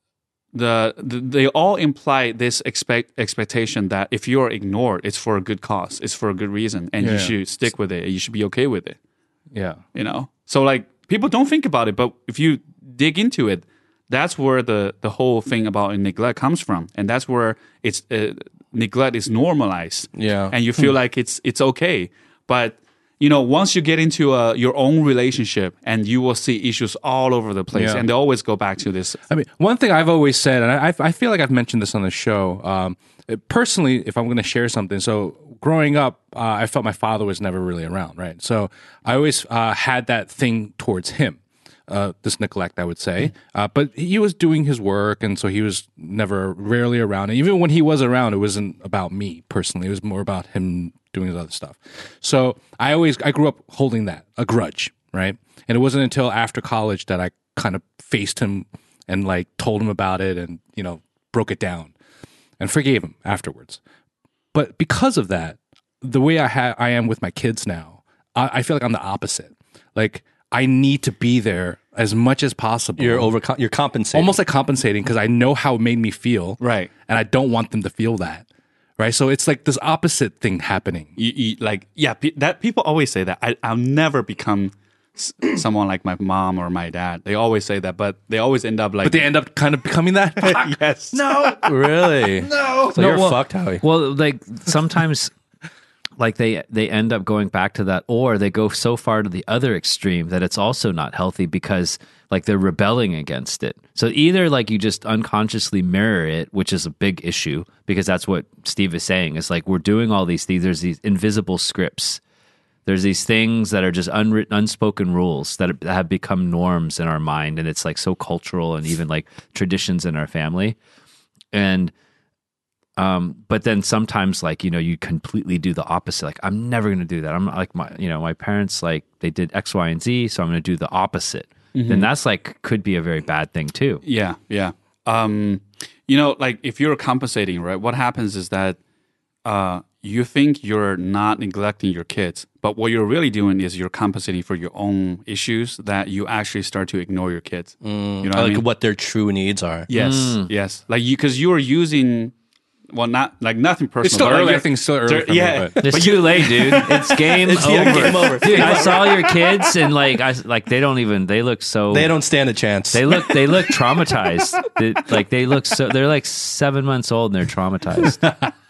the, the they all imply this expect expectation that if you are ignored, it's for a good cause, it's for a good reason, and Yeah. you should stick with it. You should be okay with it. Yeah. You know, so like people don't think about it, but if you dig into it, that's where the the whole thing about neglect comes from, and that's where it's uh, neglect is normalized. Yeah. and you feel like it's it's okay, but you know, once you get into uh, your own relationship, and you will see issues all over the place, Yeah. and they always go back to this. I mean, one thing I've always said, and I, I feel like I've mentioned this on the show. Um, personally, if I'm going to share something, so growing up, uh, I felt my father was never really around, right? So I always uh, had that thing towards him, uh, this neglect, I would say. Uh, but he was doing his work, and so he was never, rarely around. And even when he was around, it wasn't about me personally. It was more about him doing his other stuff. So I always, I grew up holding that, a grudge, right? And it wasn't until after college that I kind of faced him and like told him about it and, you know, broke it down and forgave him afterwards. But because of that, the way I ha- I am with my kids now, I, I feel like I'm the opposite. Like I need to be there as much as possible. You're over. You're compensating. Almost like compensating because I know how it made me feel. Right. And I don't want them to feel that. Right. So it's like this opposite thing happening. You, you, like, yeah, pe- that people always say that. I, I'll never become s- someone like my mom or my dad. They always say that, but they always end up like. But they end up kind of becoming that. yes. No. really. No. So No, you're well- fucked, Howie. Well, like sometimes, like they they end up going back to that, or they go so far to the other extreme that it's also not healthy because like they're rebelling against it. So either like you just unconsciously mirror it, which is a big issue because that's what Steve is saying. It's like we're doing all these things. There's these invisible scripts. There's these things that are just unwritten, unspoken rules that, are, that have become norms in our mind, and it's like so cultural and even like traditions in our family. And Um, but then sometimes like, you know, you completely do the opposite. Like, I'm never going to do that. I'm like my, you know, my parents, like they did X, Y, and Z. So I'm going to do the opposite. Then that's like, could be a very bad thing too. Yeah, yeah. Um, you know, like if you're compensating, right? What happens is that uh, you think you're not neglecting your kids, but what you're really doing is you're compensating for your own issues that you actually start to ignore your kids. You know what I Like mean? what their true needs are. Yes, yes. Like you, because you are using, well, not like nothing personal. It's still but, like, early. I you're- think it's still early there- for me, yeah, but- It's too late, dude. It's game over. yeah, game over. Dude, I saw your kids and like, I like they don't even. They look so. They don't stand a chance. They look. They look traumatized. They, like they look so. They're like seven months old and they're traumatized.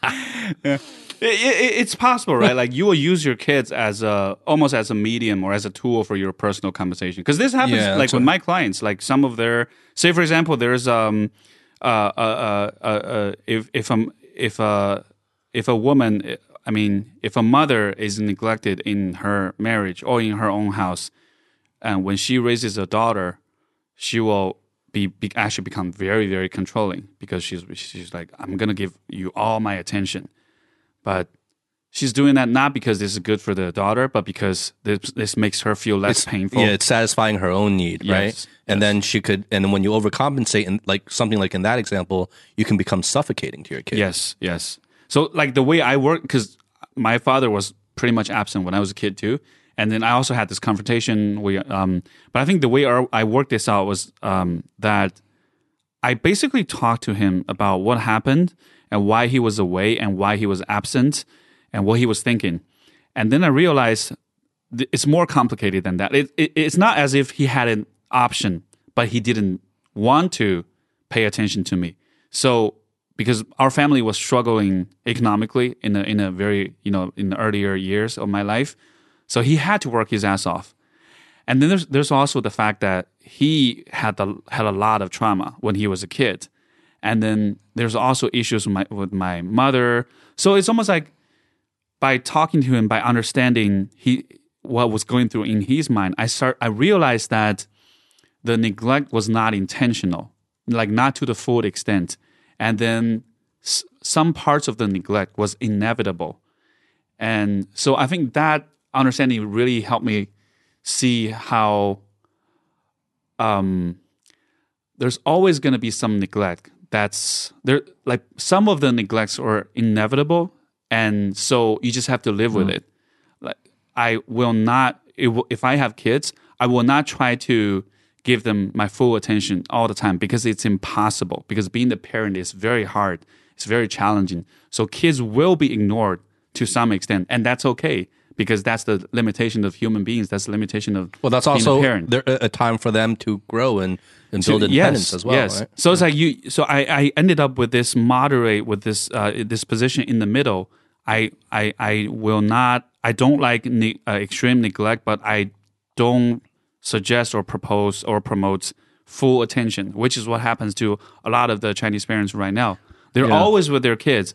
It, it, it's possible, right? Like you will use your kids as a almost as a medium or as a tool for your personal compensation. Because this happens, Yeah, like that's with what- my clients. Like some of their, say for example, there's um, uh, uh, uh, uh, uh if if um if a if a woman, I mean, if a mother is neglected in her marriage or in her own house, and when she raises a daughter, she will be, be actually become very very controlling because she's she's like, I'm gonna give you all my attention. But she's doing that not because this is good for the daughter, but because this this makes her feel less painful. Yeah, it's satisfying her own need, Yes, right? And then she could, and then when you overcompensate, and like something like in that example, you can become suffocating to your kid. Yes, yes. So like the way I work, because my father was pretty much absent when I was a kid too, and then I also had this confrontation. We, um, but I think the way our, I worked this out was um, that I basically talked to him about what happened and why he was away and why he was absent and what he was thinking, and then I realized th- it's more complicated than that. It, it, it's not as if he had an option, but he didn't want to pay attention to me. So because our family was struggling economically in a in a very, you know, in the earlier years of my life, so he had to work his ass off. And then there's there's also the fact that he had the had a lot of trauma when he was a kid, and then there's also issues with my with my mother. So it's almost like by talking to him, by understanding he what was going through in his mind, I start I realized that the neglect was not intentional, like not to the full extent. And then s- some parts of the neglect was inevitable. And so I think that understanding really helped me see how um, there's always going to be some neglect. That's there. Like some of the neglects are inevitable, and so you just have to live with it. Like I will not. It will, if I have kids, I will not try to give them my full attention all the time because it's impossible. Because being the parent is very hard. It's very challenging. So kids will be ignored to some extent, and that's okay. Because that's the limitation of human beings. That's the limitation of Well, that's being also a parent. there, a time for them to grow and, and build So, independence yes, as well. Yes. Right? So it's like you. So I, I ended up with this moderate, with this uh, this position in the middle. I I I will not. I don't like ne- uh, extreme neglect, but I don't suggest or propose or promote full attention, which is what happens to a lot of the Chinese parents right now. They're Yeah. always with their kids.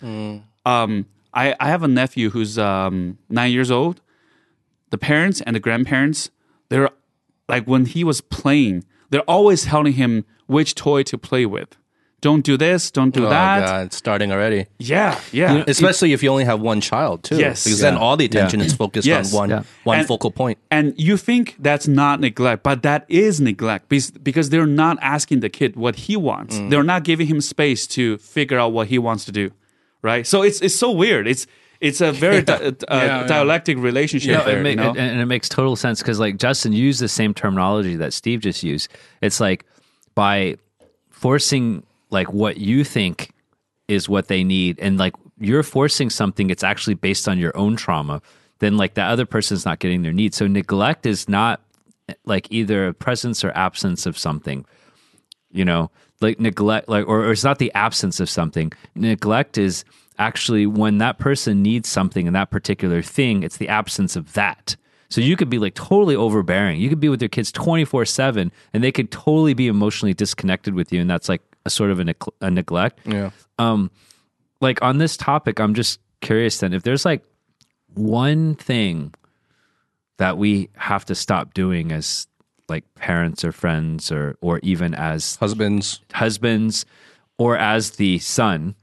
Um, I I have a nephew who's um, nine years old. The parents and the grandparents, they're like when he was playing, they're always telling him which toy to play with. Don't do this, don't do Oh, that. God, it's starting already. Yeah, yeah. Especially if you only have one child, too. Yes. Because then Yeah. all the attention is focused Yes. on one, Yeah. one And- focal point. And you think that's not neglect, but that is neglect because, because they're not asking the kid what he wants. Mm. They're not giving him space to figure out what he wants to do, right? So it's it's so weird. It's it's a very di- uh, yeah. dialectic relationship No, there. it ma- you know? and, and it makes total sense because like Justin used the same terminology that Steve just used. It's like by forcing like what you think is what they need, and like you're forcing something, it's actually based on your own trauma. Then like the other person's not getting their needs. So neglect is not like either a presence or absence of something. You know, like neglect, like or, or it's not the absence of something. Neglect is actually when that person needs something and that particular thing, it's the absence of that. So you could be like totally overbearing. You could be with your kids twenty-four seven and they could totally be emotionally disconnected with you. And that's like a sort of a, neg- a neglect. Yeah. Um, like on this topic, I'm just curious then if there's like one thing that we have to stop doing as like parents or friends or, or even as Husbands. husbands or as the son,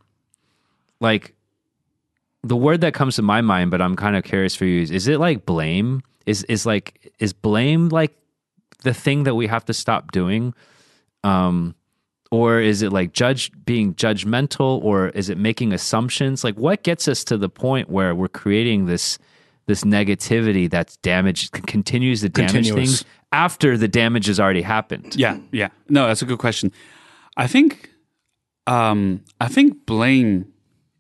like the word that comes to my mind, but I'm kind of curious for you is, is it like blame? Is is like is blame like the thing that we have to stop doing? Um or is it like judge being judgmental, or is it making assumptions? Like what gets us to the point where we're creating this this negativity that's damaged continues to damage Continuous. things after the damage has already happened? Yeah, yeah. No, that's a good question. I think, um, I think blame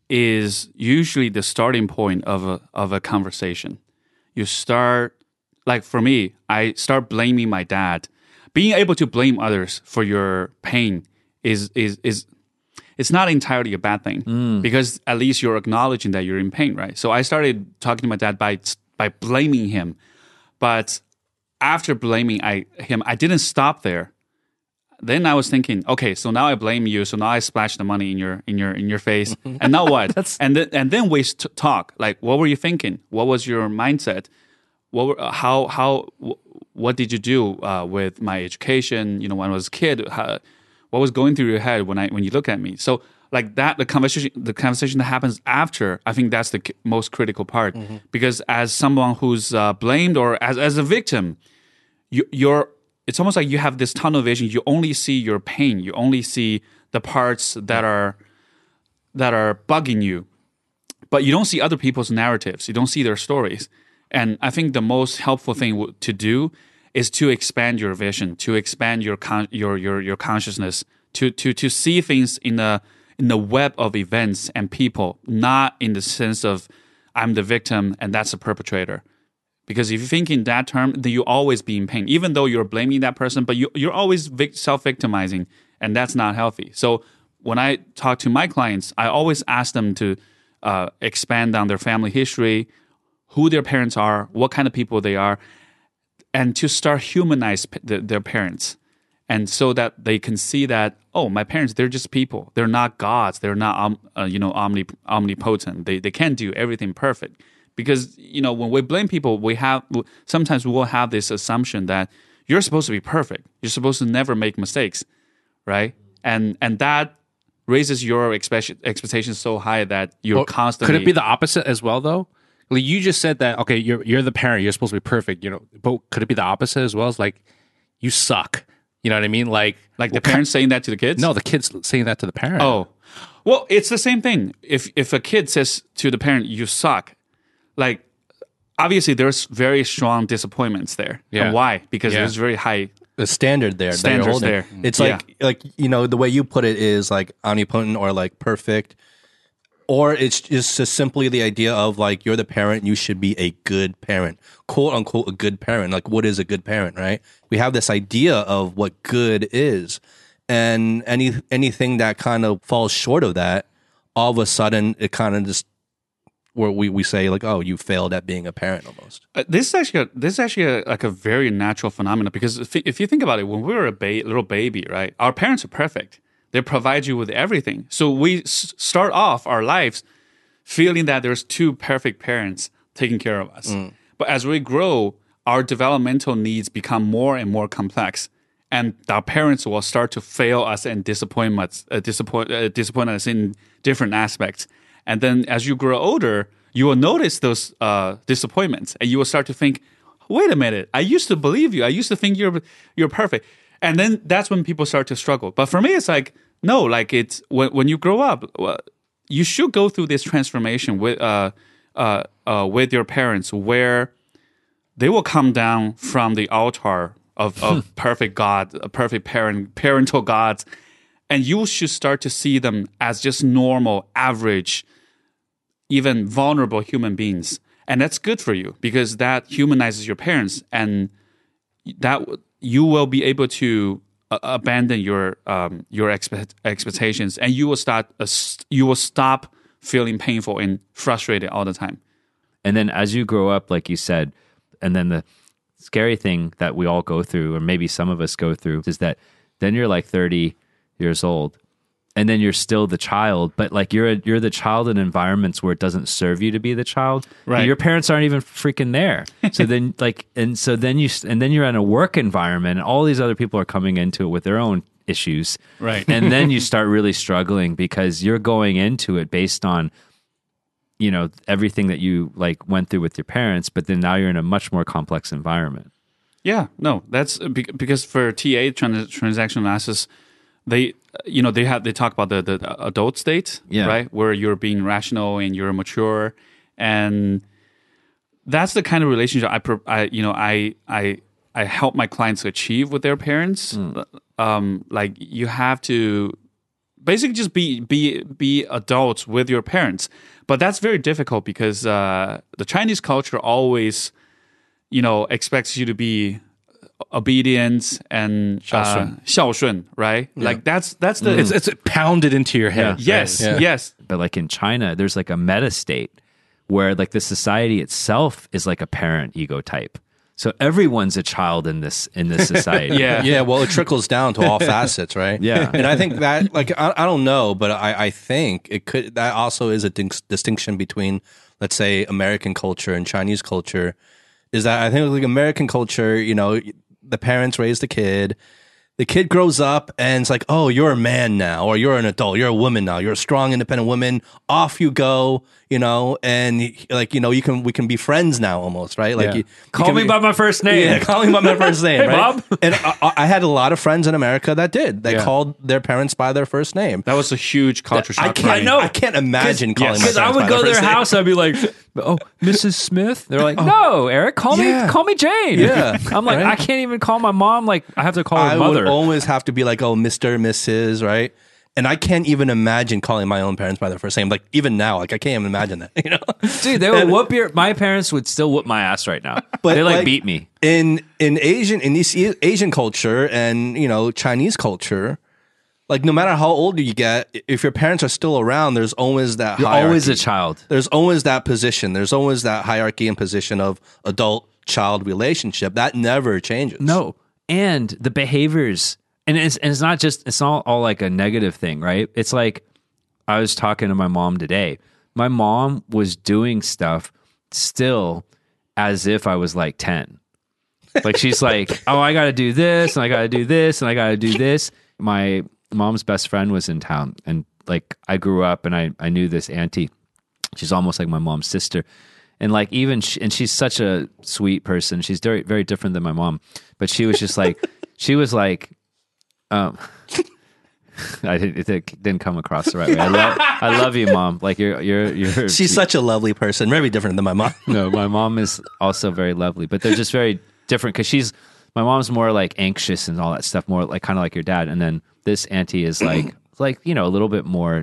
is usually the starting point of a of a conversation. You start, like for me, I start blaming my dad. Being able to blame others for your pain is is is it's not entirely a bad thing because at least you're acknowledging that you're in pain, right? So I started talking to my dad by by blaming him, but after blaming I, him, I didn't stop there. Then I was thinking, okay, so now I blame you. So now I splash the money in your in your in your face, and now what? and then and then we st- talk. Like, what were you thinking? What was your mindset? What were, uh, how how w- what did you do uh, with my education? You know, when I was a kid, how, what was going through your head when I when you look at me? So like that, the conversation the conversation that happens after, I think that's the c- most critical part because as someone who's uh, blamed or as as a victim, you, you're. It's almost like you have this tunnel vision. You only see your pain. You only see the parts that are that are bugging you, but you don't see other people's narratives. You don't see their stories. And I think the most helpful thing w- to do is to expand your vision, to expand your con- your your your consciousness, to to to see things in a in the web of events and people, not in the sense of I'm the victim and that's the perpetrator. Because if you think in that term, then you always be in pain, even though you're blaming that person, but you, you're always vic- self-victimizing, and that's not healthy. So when I talk to my clients, I always ask them to uh, expand on their family history, who their parents are, what kind of people they are, and to start humanize p- the, their parents. And so that they can see that, oh, my parents, they're just people. They're not gods. They're not um, uh, you know, omni- omnipotent. They, they can't do everything perfect. Because, you know, when we blame people, we have sometimes we will have this assumption that you're supposed to be perfect. You're supposed to never make mistakes, right? And and that raises your expect- expectations so high that you're Well, constantly. Could it be the opposite as well, though? Like you just said that, okay, you're you're the parent, you're supposed to be perfect, you know. But could it be the opposite as well? It's like you suck. You know what I mean? Like, Like the what ki- parents saying that to the kids? No, the kids saying that to the parent. Oh, well, it's the same thing. If if a kid says to the parent, "You suck," like obviously there's very strong disappointments there. Yeah. And why? Because Yeah. there's very high. The standard there. that you're Standards holding. there. It's Yeah. like like you know the way you put it is like omnipotent or like perfect, or it's just, just simply the idea of like you're the parent, you should be a good parent, quote unquote a good parent. Like what is a good parent, right? We have this idea of what good is, and any anything that kind of falls short of that, all of a sudden it kind of just where we, we say like, oh, you failed at being a parent almost. Uh, this is actually a, this is actually a, like a very natural phenomenon because if, if you think about it, when we were a ba- little baby, right, our parents are perfect. They provide you with everything. So we s- start off our lives feeling that there's two perfect parents taking care of us. But as we grow, our developmental needs become more and more complex, and our parents will start to fail us and disappoint us, uh, disappoint uh, disappoint us in different aspects. And then as you grow older, you will notice those uh, disappointments, and you will start to think, "Wait a minute! I used to believe you. I used to think you're you're perfect." And then that's when people start to struggle. But for me, it's like no, like it's when when you grow up, well, you should go through this transformation with uh, uh, uh, with your parents, where they will come down from the altar of, of perfect God, a perfect parent, parental gods, and you should start to see them as just normal, average, even vulnerable human beings. And that's good for you because that humanizes your parents, and that you will be able to uh, abandon your um, your expect, expectations, and you will start uh, you will stop feeling painful and frustrated all the time. And then as you grow up, like you said, and then the scary thing that we all go through, or maybe some of us go through, is that then you're like thirty years old, and then you're still the child, but like you're a, you're the child in environments where it doesn't serve you to be the child. Right. Your parents aren't even freaking there. So then like, and so then you, and then you're in a work environment, and all these other people are coming into it with their own issues. Right. And then you start really struggling because you're going into it based on, you know, everything that you like went through with your parents, but then now you're in a much more complex environment. Yeah, no, that's be- because for T A, trans- transaction analysis, they, you know, they have they talk about the, the adult state, Yeah. right, where you're being rational and you're mature, and that's the kind of relationship I, pro- I you know, I I I help my clients achieve with their parents. Um, like you have to basically just be be be adults with your parents, but that's very difficult because uh, the Chinese culture always, you know, expects you to be obedient and uh, 孝顺, right? Like that's that's the It's, it's pounded into your head. yes, right? yes. But like in China, there's like a meta state where like the society itself is like a parent ego type. So everyone's a child in this in this society. Yeah. Yeah, well, it trickles down to all facets, right? Yeah. and I think that, like, I, I don't know, but I, I think it could. That also is a dis- distinction between, let's say, American culture and Chinese culture. Is that I think like American culture, you know, the parents raise the kid. The kid grows up and it's like, oh, you're a man now, or you're an adult, you're a woman now, you're a strong, independent woman. Off you go, you know, and like, you know, you can we can be friends now, almost, right? Like, Yeah. you, you Call can me be- by my first name. Yeah, call me by my first name, Hey, right? Bob. And I, I had a lot of friends in America that did. They Yeah. called their parents by their first name. That was a huge culture shock. I for can't. me. I can't imagine calling my Because parents I would by go to their their first name. house, I'd be like, "Oh, Missus Smith." They're like, "No, Eric, call Yeah. me, call me Jane." Yeah. I'm like, Right? I can't even call my mom. Like, I have to call her I mother. would always have to be like, oh, Mister, Missus, right? And I can't even imagine calling my own parents by their first name. Like even now, like I can't even imagine that. You know, Dude, they would whoop your. My parents would still whoop my ass right now. But, they like, like- beat me. in in Asian in this Asian culture and you know Chinese culture, like no matter how old you get, if your parents are still around, there's always that You're hierarchy. always a child. There's always that position. There's always that hierarchy and position of adult child relationship that never changes. No, and the behaviors, and it's and it's not just it's not all like a negative thing, right? It's like I was talking to my mom today. My mom was doing stuff still as if I was like ten. Like she's like, oh, I got to do this, and I got to do this, and I got to do this. My mom's best friend was in town, and like I grew up, and I I knew this auntie. She's almost like my mom's sister. And like even she, and she's such a sweet person. She's very very different than my mom. But she was just like she was like Um, I didn't, it didn't come across the right way. I love, I love you, Mom. Like you're, you're, you're. She's such a lovely person, very different than my mom. No, my mom is also very lovely, but they're just very different because she's. My mom's more like anxious and all that stuff, more like kind of like your dad, and then this auntie is like, like you know, a little bit more.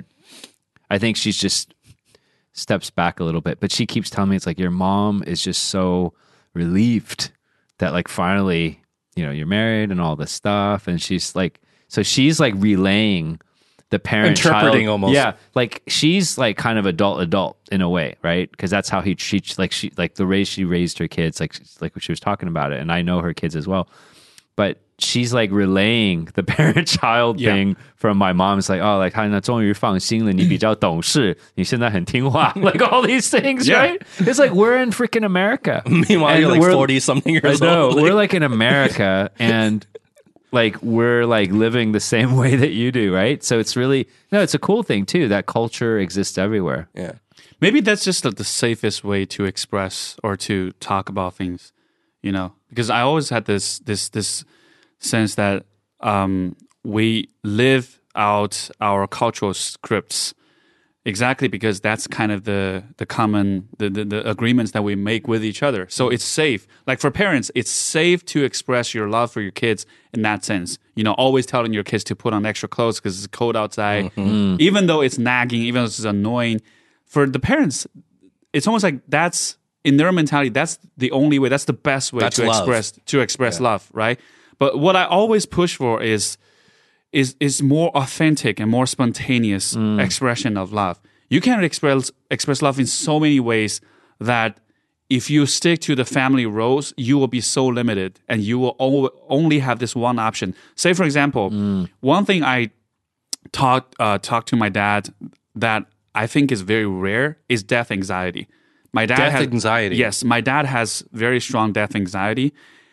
I think she's just steps back a little bit, but she keeps telling me it's like your mom is just so relieved that like finally, you know, you're married and all this stuff, and she's like. So she's like relaying the parent interpreting child, almost. Yeah, like she's like kind of adult adult in a way, right? Because that's how he treats like she like the way she raised her kids, like like she was talking about it, and I know her kids as well. But she's like relaying the parent child Yeah. thing from my mom. It's like oh, like 她终于放心了，你比较懂事，你现在很听话, like all these things, Yeah. right? It's like we're in freaking America. Meanwhile, And you're like we're- forty something years I know. old. We're like in America and like we're like living the same way that you do, right? So it's really no, it's a cool thing too. That culture exists everywhere. yeah. Maybe that's just the, the safest way to express or to talk about things, you know. Because I always had this this this sense that um, we live out our cultural scripts exactly because that's kind of the the common the, the the agreements that we make with each other. So it's safe. Like for parents, it's safe to express your love for your kids in that sense. You know, always telling your kids to put on extra clothes because it's cold outside, even though it's nagging, even though it's annoying. For the parents, it's almost like that's in their mentality. That's the only way. That's the best way That's to love. express to express love, right? But what I always push for is is is more authentic and more spontaneous expression of love. You can express express love in so many ways that if you stick to the family roles, you will be so limited and you will o- only have this one option. Say, for example, one thing I talked uh, talked to my dad that I think is very rare is death anxiety. My dad Death has, anxiety. Yes, my dad has very strong death anxiety,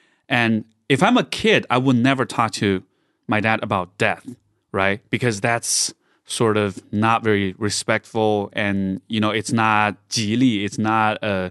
and if I'm a kid, I would never talk to my dad about death, right? Because that's sort of not very respectful, and you know, it's not 吉利, it's not a,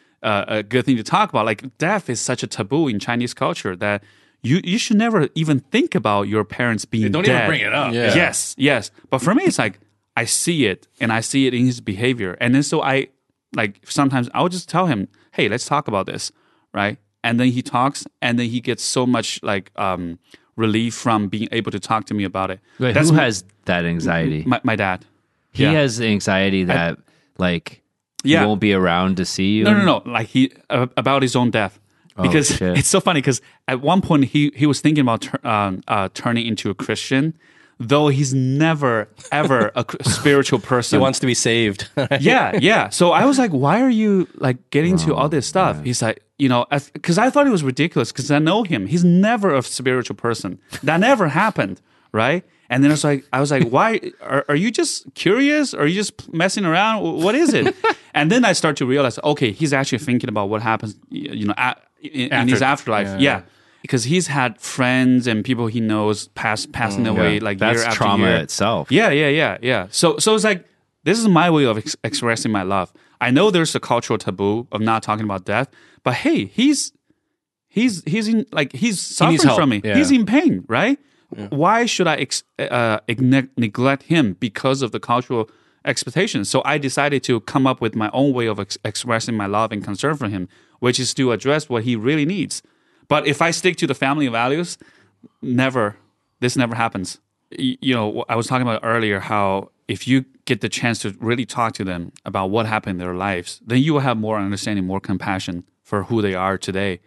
a a good thing to talk about. Like death is such a taboo in Chinese culture that you you should never even think about your parents being Don't dead. even bring it up. Yeah. Yes, yes. But for me, it's like I see it, and I see it in his behavior, and then so I like sometimes I'll just tell him, "Hey, let's talk about this," right? And then he talks, and then he gets so much like um, relief from being able to talk to me about it. Wait, That's who my- has that anxiety? my, my dad? he yeah. has anxiety that like Yeah. he won't be around to see you. No, no, no. Like he uh, about his own death. Because shit. it's so funny because at one point he he was thinking about tur- um, uh, turning into a Christian, though he's never ever a cr- spiritual person. He wants to be saved. yeah, yeah. So I was like, why are you like getting into all this stuff? He's like, you know, because I thought it was ridiculous because I know him. He's never a spiritual person. That never happened, right? And then I was like, I was like, why are, are you just curious? Or are you just messing around? What is it? And then I start to realize, okay, he's actually thinking about what happens, you know, at, in, in his afterlife. yeah, Yeah. Because he's had friends and people he knows pass passing away like That's year after trauma year. itself. Yeah, yeah, yeah, yeah. So, so it's like this is my way of ex- expressing my love. I know there's a cultural taboo of not talking about death, but hey, he's he's he's in like he's suffering needs help. from me. Yeah. He's in pain, right? Why should I ex- uh, igne- neglect him because of the cultural expectations? So I decided to come up with my own way of ex- expressing my love and concern for him, which is to address what he really needs. But if I stick to the family values, never, this never happens. Y- You know, I was talking about earlier how if you get the chance to really talk to them about what happened in their lives, then you will have more understanding, more compassion for who they are today.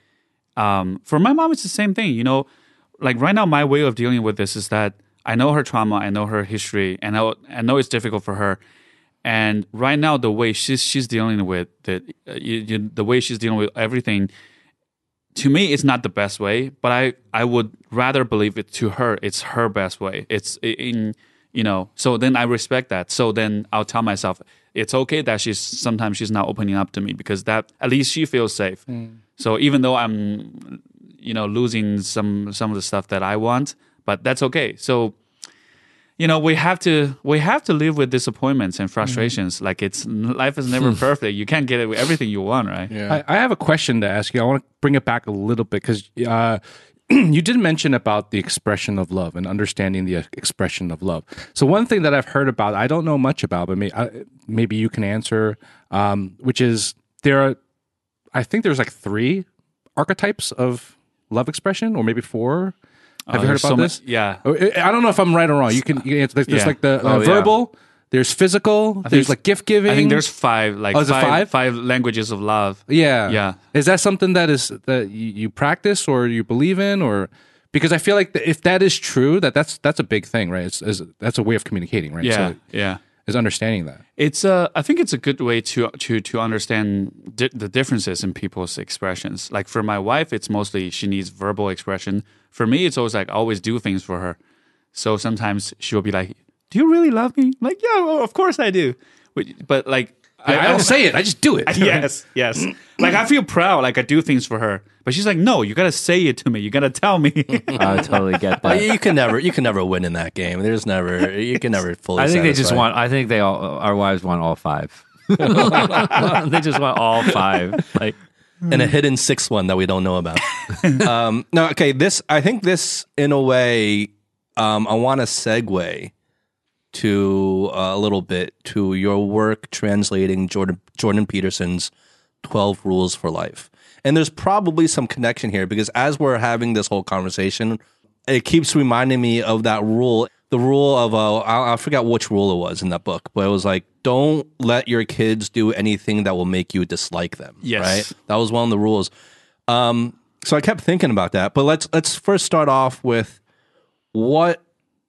Um, for my mom, it's the same thing. You know, like right now, my way of dealing with this is that I know her trauma, I know her history, and I know, I know it's difficult for her. And right now, the way she's she's dealing with the uh, you, you, the way she's dealing with everything, to me, it's not the best way. But I, I would rather believe it to her. It's her best way. It's in you know. So then I respect that. So then I'll tell myself it's okay that she's sometimes she's not opening up to me because that at least she feels safe. So even though I'm you know losing some some of the stuff that I want, but that's okay. So. You know, we have to we have to live with disappointments and frustrations. Mm-hmm. Like it's life is never perfect. You can't get everything you want, right? I, I have a question to ask you. I want to bring it back a little bit because uh, you did mention about the expression of love and understanding the expression of love. So one thing that I've heard about, I don't know much about, but may, uh, maybe you can answer, um, which is there are, I think there's like three archetypes of love expression, or maybe four. Have Oh, you heard there's about so mu- this? yeah. Oh, I I don't know if I'm right or wrong. You can, you can answer. There's, there's Yeah. like the uh, Oh, yeah. verbal, there's physical, there's there's- like gift giving. I think there's five, like Oh, is it five, five? five languages of love. Yeah. Yeah. Is that something that is that you, you practice or you believe in, or because I feel like th- if that is true, that that's that's a big thing, right? It's, it's that's a way of communicating, right? Yeah, So yeah. is understanding that. It's uh, I think it's a good way to to to understand di- the differences in people's expressions. Like for my wife, it's mostly she needs verbal expression. For me, it's always like I always do things for her. So sometimes she'll be like, "Do you really love me?" I'm like, yeah, well, of course I do. But, but like, I, I don't say it; I just do it. yes, yes. Like I feel proud, like I do things for her. But she's like, "No, you gotta say it to me. You gotta tell me." I totally get But that. you can never, you can never win in that game. There's never, you can never fully. I think they just satisfy. want. I think they all. Our wives want all five. They just want all five. Like and a hidden sixth one that we don't know about. um, no, okay. This, I think this, in a way, um, I want to segue to uh, a little bit to your work translating Jordan Jordan Peterson's twelve Rules for Life. And there's probably some connection here because as we're having this whole conversation, it keeps reminding me of that rule, the rule of, uh, I, I forgot which rule it was in that book, but it was like, don't let your kids do anything that will make you dislike them. Yes. Right? That was one of the rules. Um, so I kept thinking about that, but let's, let's first start off with what,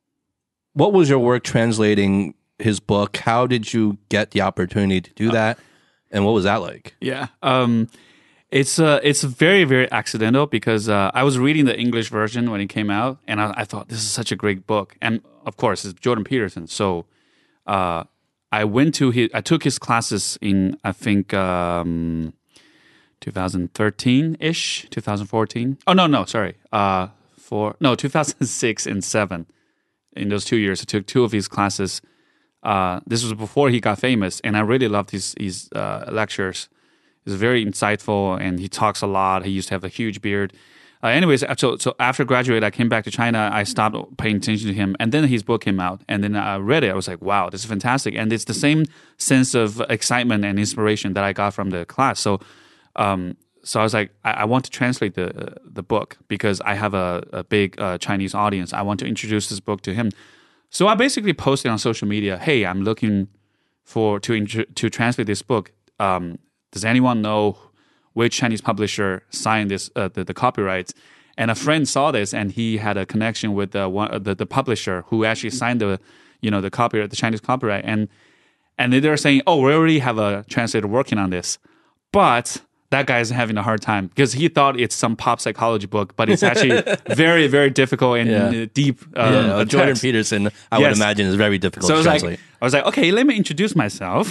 what was your work translating his book? How did you get the opportunity to do that? And what was that like? Yeah. Um, it's uh, it's very, very accidental because uh, I was reading the English version when it came out, and I, I thought this is such a great book. And of course, it's Jordan Peterson. So uh, I went to his, I took his classes in, I think, um, twenty thirteen-ish, twenty fourteen. Oh, no, no, sorry. Uh, for, no, two thousand six and seven. In those two years, I took two of his classes. Uh, this was before he got famous, and I really loved his his uh, lectures. He's very insightful, and he talks a lot. He used to have a huge beard. Uh, anyways, so so after graduate, I came back to China. I stopped paying attention to him, and then his book came out, and then I read it. I was like, wow, this is fantastic, and it's the same sense of excitement and inspiration that I got from the class. So, um, so I was like, I, I want to translate the uh, the book because I have a, a big uh, Chinese audience. I want to introduce this book to him. So I basically posted on social media, "Hey, I'm looking for to intro, to translate this book. Um, does anyone know which Chinese publisher signed this uh, the, the copyrights?" And a friend saw this, and he had a connection with the one uh, the, the publisher who actually signed the you know the copyright, the Chinese copyright, and and they're saying, "Oh, we already have a translator working on this," but that guy is having a hard time because he thought it's some pop psychology book, but it's actually very, very difficult and Yeah. uh, deep. Uh, Yeah, uh, Jordan text. Peterson, I would Yes. imagine, is very difficult So I to was like, translate. I was like, okay, let me introduce myself.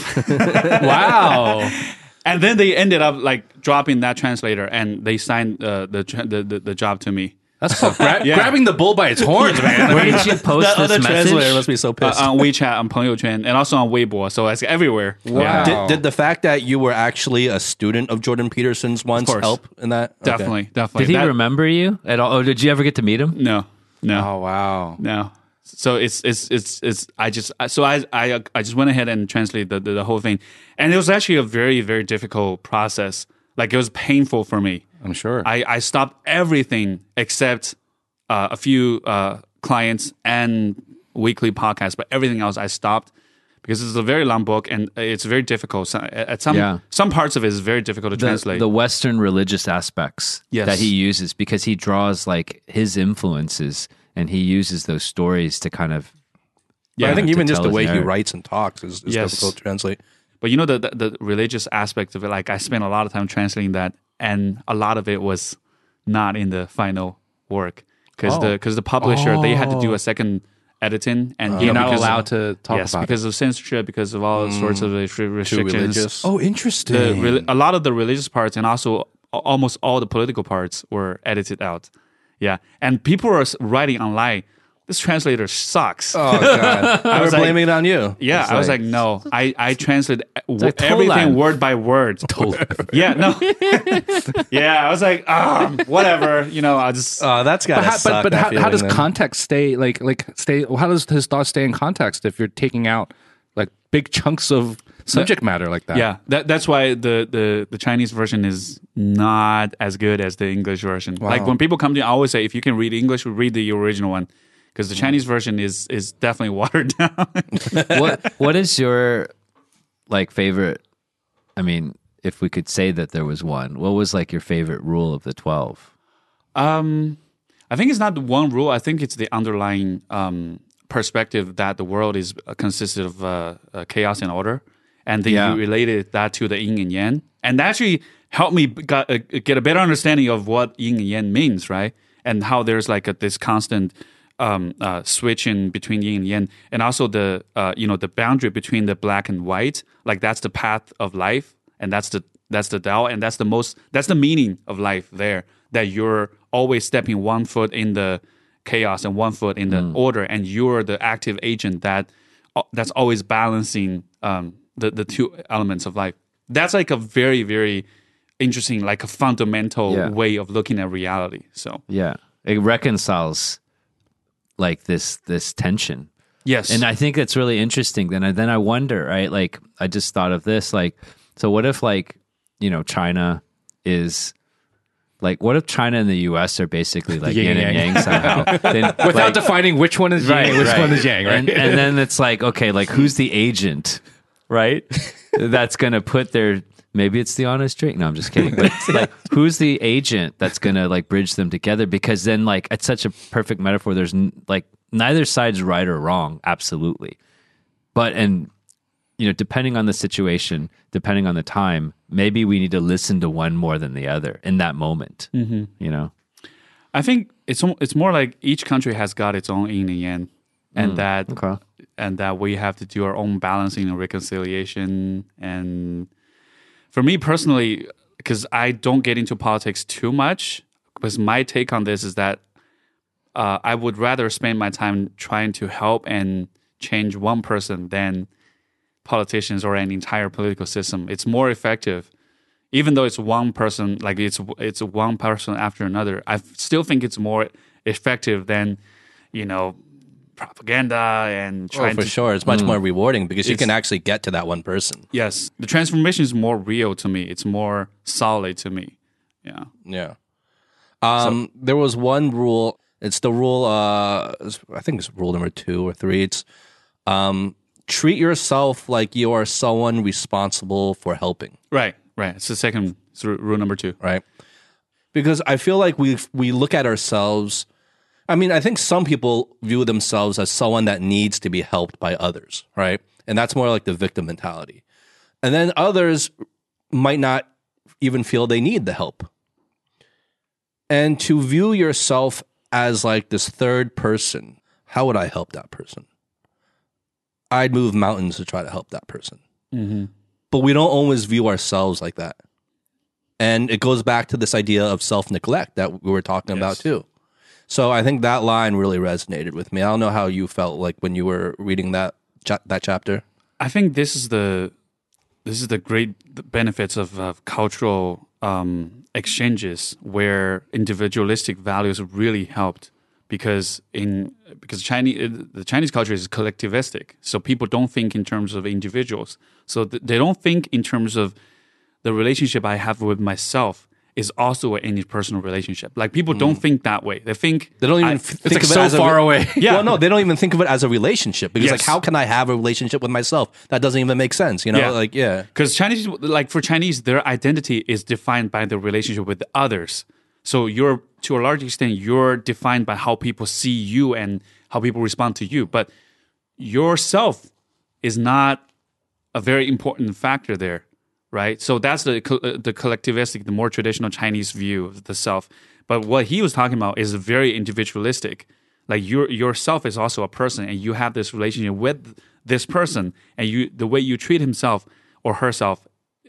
Wow. And then they ended up like dropping that translator, and they signed uh, the, tra- the the the job to me. That's so gra- Yeah. grabbing the bull by its horns, man. where did you post That other this translator message? must be so Uh, pissed. on WeChat, on 朋友圈, and also on Weibo, so it's everywhere. Wow. Did, did the fact that you were actually a student of Jordan Peterson's once course. help in that? Okay. Definitely, definitely. Did he That- remember you at all? Or did you ever get to meet him? No, no. Oh wow. No. So it's it's it's it's I just so I I I just went ahead and translated the, the, the whole thing, and it was actually a very very difficult process. Like it was painful for me. I'm sure. I I stopped everything except uh, a few uh, clients and weekly podcasts, but everything else I stopped because it's a very long book and it's very difficult. So at some Yeah. some parts of it is very difficult to The, translate. the Western religious aspects Yes. that he uses because he draws like his influences and he uses those stories to kind of But I think to even just tell the his way he narrative. writes and talks is, is Yes. difficult to translate. But you know the, the the religious aspect of it, like I spent a lot of time translating that, and a lot of it was not in the final work because Oh. the because the publisher they had to do a second editing, and you You're know, not because allowed to talk yes about because of censorship, because of all sorts of restri- Too restrictions. religious. Oh, interesting. The reli- a lot of the religious parts and also a- almost all the political parts were edited out. Yeah, and people were s- writing online. this translator sucks. Oh God! I was like- blaming it on you. Yeah, It's I was like, no, I, I translate w- like everything Tolan. word by word. Yeah, no. Yeah, I was like, um, whatever. You know, I just. oh, that's gotta But, how, suck. but, but that how, how feeling does then. context stay like like stay? How does his thoughts stay in context if you're taking out like big chunks of subject matter like that? Yeah, that, that's why the, the, the Chinese version is not as good as the English version. Like when people come to me, I always say, if you can read English, read the original one. Because the Chinese version is is definitely watered down. what what is your like favorite? I mean, if we could say that there was one, what was like your favorite rule of the twelve? Um, I think it's not the one rule. I think it's the underlying um, perspective that the world is uh, consisted of uh, uh, chaos and order, and then Yeah. you related that to the yin and yang, and that actually helped me got, uh, get a better understanding of what yin and yang means, right? And how there's like a, this constant um, uh, switching between yin and yang, and also the uh, you know the boundary between the black and white. Like that's the path of life, and that's the that's the Tao, and that's the most that's the meaning of life there. That you're always stepping one foot in the chaos and one foot in the order, and you're the active agent that that's always balancing um, the the two elements of life. That's like a very very interesting, like a fundamental Yeah. way of looking at reality. So Yeah, it reconciles like this this tension. yes, And I think it's really interesting. Then I then I wonder, right? Like I just thought of this. Like, so what if like you know China is like what if China and the U S are basically like yin, Yin and and yang somehow? Then, Without like, defining which one is right, yang, which right. one is yang, right? And, and then it's like, okay, like who's the agent, right? That's gonna put their maybe it's the honest drink. No, I'm just kidding. But it's like, who's the agent that's gonna like bridge them together? Because then, like, it's such a perfect metaphor. There's n- like neither side's right or wrong, absolutely. But and you know, depending on the situation, depending on the time, maybe we need to listen to one more than the other in that moment. Mm-hmm. You know. I think it's al- it's more like each country has got its own yin and yang, and that Okay. and that we have to do our own balancing and reconciliation. And for me personally, because I don't get into politics too much, because my take on this is that uh, I would rather spend my time trying to help and change one person than politicians or an entire political system. It's more effective, even though it's one person, like it's it's one person after another. I still think it's more effective than, you know, propaganda and Oh, trying for to. sure. It's much more rewarding because you It's- can actually get to that one person. Yes, the transformation is more real to me. It's more solid to me. Yeah. Yeah. Um, there was one rule. It's the rule. Uh, I think it's rule number two or three. It's um, treat yourself like you are someone responsible for helping. Right. Right. It's the second it's ru- rule number two. Right. Because I feel like we we look at ourselves. I mean, I think some people view themselves as someone that needs to be helped by others, right? And that's more like the victim mentality. And then others might not even feel they need the help. And to view yourself as like this third person, how would I help that person? I'd move mountains to try to help that person. But we don't always view ourselves like that. And it goes back to this idea of self-neglect that we were talking about too. So I think that line really resonated with me. I don't know how you felt like when you were reading that cha- that chapter. I think this is the this is the great benefits of, of cultural um, exchanges where individualistic values really helped because in because Chinese the Chinese culture is collectivistic, so people don't think in terms of individuals. So th- they don't think in terms of the relationship I have with myself is also an interpersonal relationship. Like people don't think that way. They think They don't even I- f- think like of it so as a far re- away. Yeah. Well, no, they don't even think of it as a relationship because, Yes. like, how can I have a relationship with myself? That doesn't even make sense. You know, Yeah. like, yeah, Because Chinese, like for Chinese, their identity is defined by the relationship with others. So you're, to a large extent, you're defined by how people see you and how people respond to you. But yourself is not a very important factor there, right? So that's the co- uh, the collectivistic, the more traditional Chinese view of the self. But what he was talking about is very individualistic. Like your yourself is also a person, and you have this relationship with this person, and you the way you treat himself or herself,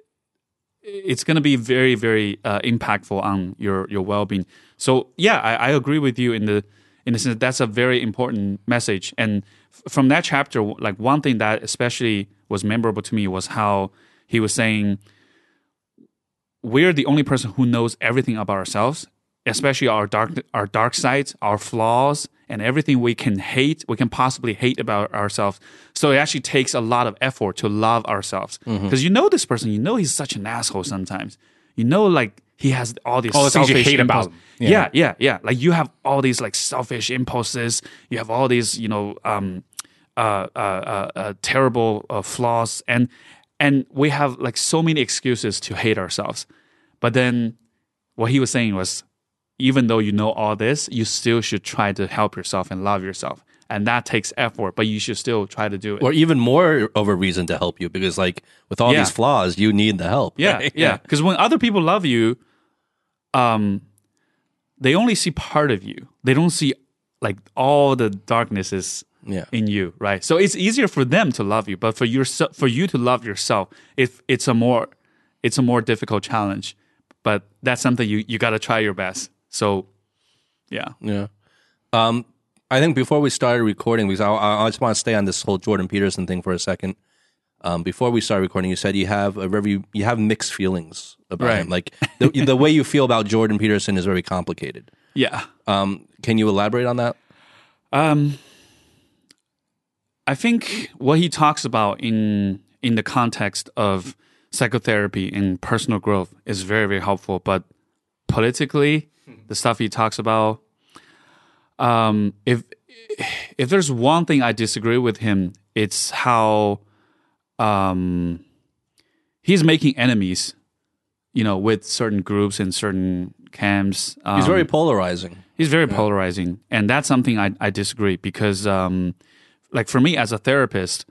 it's going to be very very uh, impactful on your your well being. So yeah, I, I agree with you in the in a sense, that's a very important message. And f- from that chapter, like one thing that especially was memorable to me was how he was saying, we're the only person who knows everything about ourselves, especially our dark, our dark sides, our flaws, and everything we can hate, we can possibly hate about ourselves. So it actually takes a lot of effort to love ourselves. Because you know this person, you know he's such an asshole sometimes. You know, like, he has all these All the things you selfish hate about impulses. him. Yeah. Yeah. yeah, yeah, Like you have all these like selfish impulses. You have all these, you know, um, uh, uh, uh, uh, terrible uh, flaws, and and we have like so many excuses to hate ourselves. But then, what he was saying was, even though you know all this, you still should try to help yourself and love yourself, and that takes effort. But you should still try to do it. Or even more of a reason to help you, because like with all Yeah. these flaws, you need the help. Yeah, right? yeah. Because when other people love you, um, they only see part of you. They don't see like all the darknesses Yeah. in you, right? So it's easier for them to love you, but for yourself, for you to love yourself, if it's a more, it's a more difficult challenge. But that's something you you got to try your best. So, yeah, Yeah. Um, I think before we started recording, because I, I just want to stay on this whole Jordan Peterson thing for a second. Um, before we started recording, you said you have a very you have mixed feelings about Right. him. Like the, the way you feel about Jordan Peterson is very complicated. yeah. Um, can you elaborate on that? Um, I think what he talks about in in the context of psychotherapy and personal growth is very, very helpful. But politically, the stuff he talks about, um, if if there's one thing I disagree with him, it's how um, he's making enemies, you know, with certain groups and certain camps. Um, He's very polarizing. He's very polarizing, and that's something I, I disagree because, um, like for me as a therapist,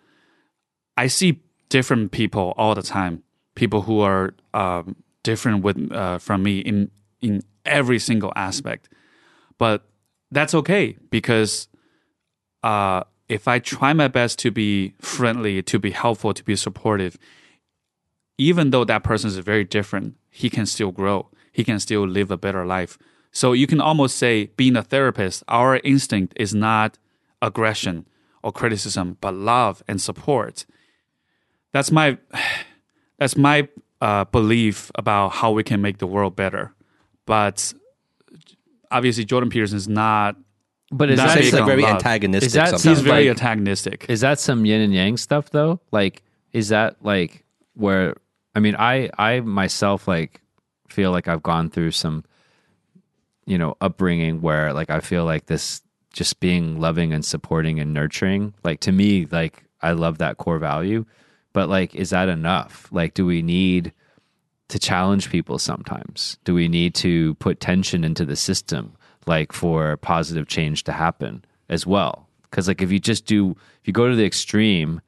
I see different people all the time. People who are um, different with uh, from me in in every single aspect, but that's okay because uh, if I try my best to be friendly, to be helpful, to be supportive, even though that person is very different, he can still grow. He can still live a better life. So you can almost say, being a therapist, our instinct is not aggression or criticism, but love and support. That's my that's my uh, belief about how we can make the world better. But obviously, Jordan Peterson is not. But is Not that big He's like on very love. antagonistic. Is that sometimes. He's Sounds very like- antagonistic. Is that some yin and yang stuff though? Like, is that like where? I mean, I I myself like feel like I've gone through some, you know, upbringing where like I feel like this just being loving and supporting and nurturing. Like to me, like I love that core value. But like, is that enough? Like, do we need to challenge people sometimes? Do we need to put tension into the system, like for positive change to happen as well? Because like if you just do, if you go to the extreme,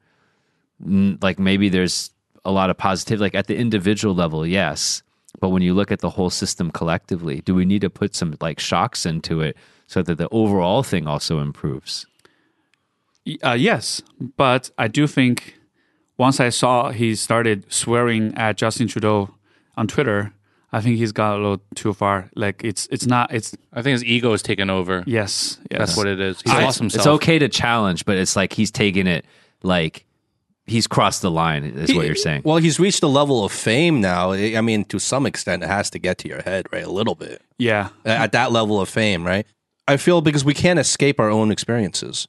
n- like maybe there's a lot of positive, like at the individual level, yes. But when you look at the whole system collectively, do we need to put some like shocks into it so that the overall thing also improves? Uh, yes, but I do think once I saw he started swearing at Justin Trudeau on Twitter, I think he's got a little too far. Like it's it's not it's I think his ego is taken over. yes, yes. That's what it is. He's I- lost himself. It's okay to challenge, but it's like he's taking it like he's crossed the line, is what you're saying. Well, he's reached a level of fame now. I I mean, to some extent, it has to get to your head, right? A little bit. Yeah, At that level of fame, right? I feel because we can't escape our own experiences.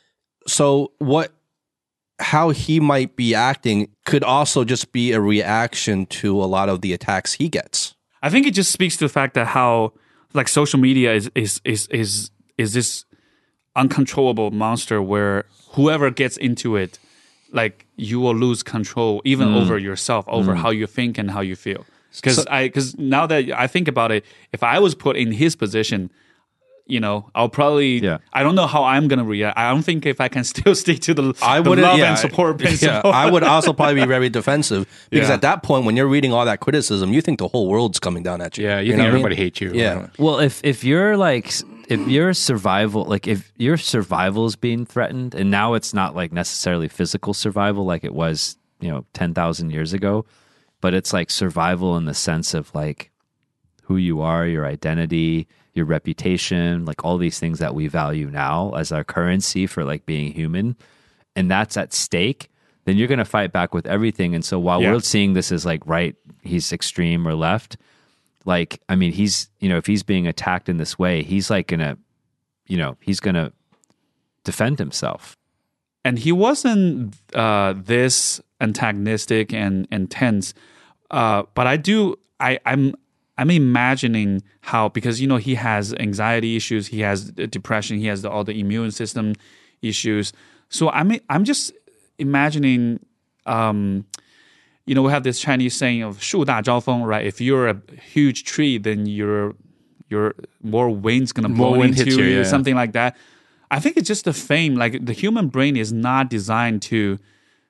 So what, how he might be acting could also just be a reaction to a lot of the attacks he gets. I think it just speaks to the fact that how like social media is is is is is this uncontrollable monster where whoever gets into it, like you will lose control even over yourself, over how you think and how you feel. Because I because now that I think about it, if I was put in his position, you know, I'll probably. Yeah. I don't know how I'm gonna react. I don't think if I can still stick to the, I the would love yeah, and support principle. Yeah, I would also probably be very defensive because Yeah. at that point, when you're reading all that criticism, you think the whole world's coming down at you. yeah, you, know think what I mean? everybody hates you. Yeah. Well, if if you're like if your survival, like if your survival is being threatened, and now it's not like necessarily physical survival like it was, you know, ten thousand years ago, but it's like survival in the sense of like who you are, your identity, your reputation, like all these things that we value now as our currency for like being human, and that's at stake, then you're going to fight back with everything. And so while Yeah. we're seeing this as like right, he's extreme or left, like, I mean, he's, you know, if he's being attacked in this way, he's like going to, you know, he's going to defend himself. And he wasn't uh, this antagonistic and intense, uh, but I do. I, I'm I'm imagining how, because you know he has anxiety issues, he has depression, he has the, all the immune system issues. So I'm I'm just imagining. Um, you know, we have this Chinese saying of 树大招风, right? If you're a huge tree, then you're you're more wind's gonna blow More wind into hits you, you, yeah. something like that. I think it's just the fame. Like the human brain is not designed to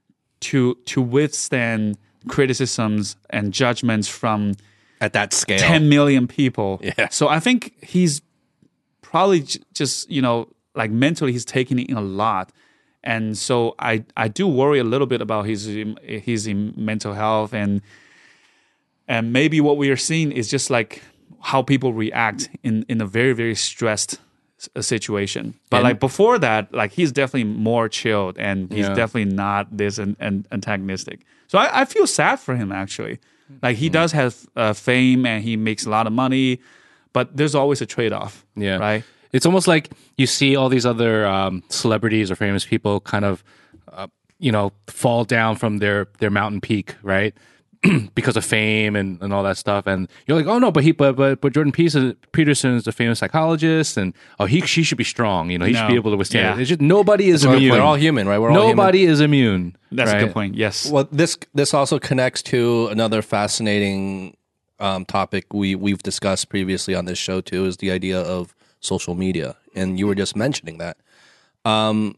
to to withstand criticisms and judgments from At that scale. ten million people. Yeah. So I think he's probably j- just, you know, like mentally he's taking it in a lot. And so I, I do worry a little bit about his his mental health, and and maybe what we are seeing is just like how people react in, in a very, very stressed s- situation. But And- like before that, like he's definitely more chilled, and he's Yeah. definitely not this an, an antagonistic. So I, I feel sad for him actually. Like he does have uh, fame and he makes a lot of money, but there's always a trade-off. Yeah. Right. It's almost like you see all these other um, celebrities or famous people kind of, uh, you know, fall down from their, their mountain peak, right? Because of fame and, and all that stuff. And you're like, oh no, but he, but, but, but Jordan Peterson, Peterson is a famous psychologist, and oh, he, she should be strong. You know, he No. should be able to withstand Yeah. it. It's just nobody is We're, immune. we're all human, right? We're all human. Nobody is immune. That's right? a good point. Yes. Well, this this also connects to another fascinating um, topic we we've discussed previously on this show too, is the idea of social media, and you were just mentioning that. Um,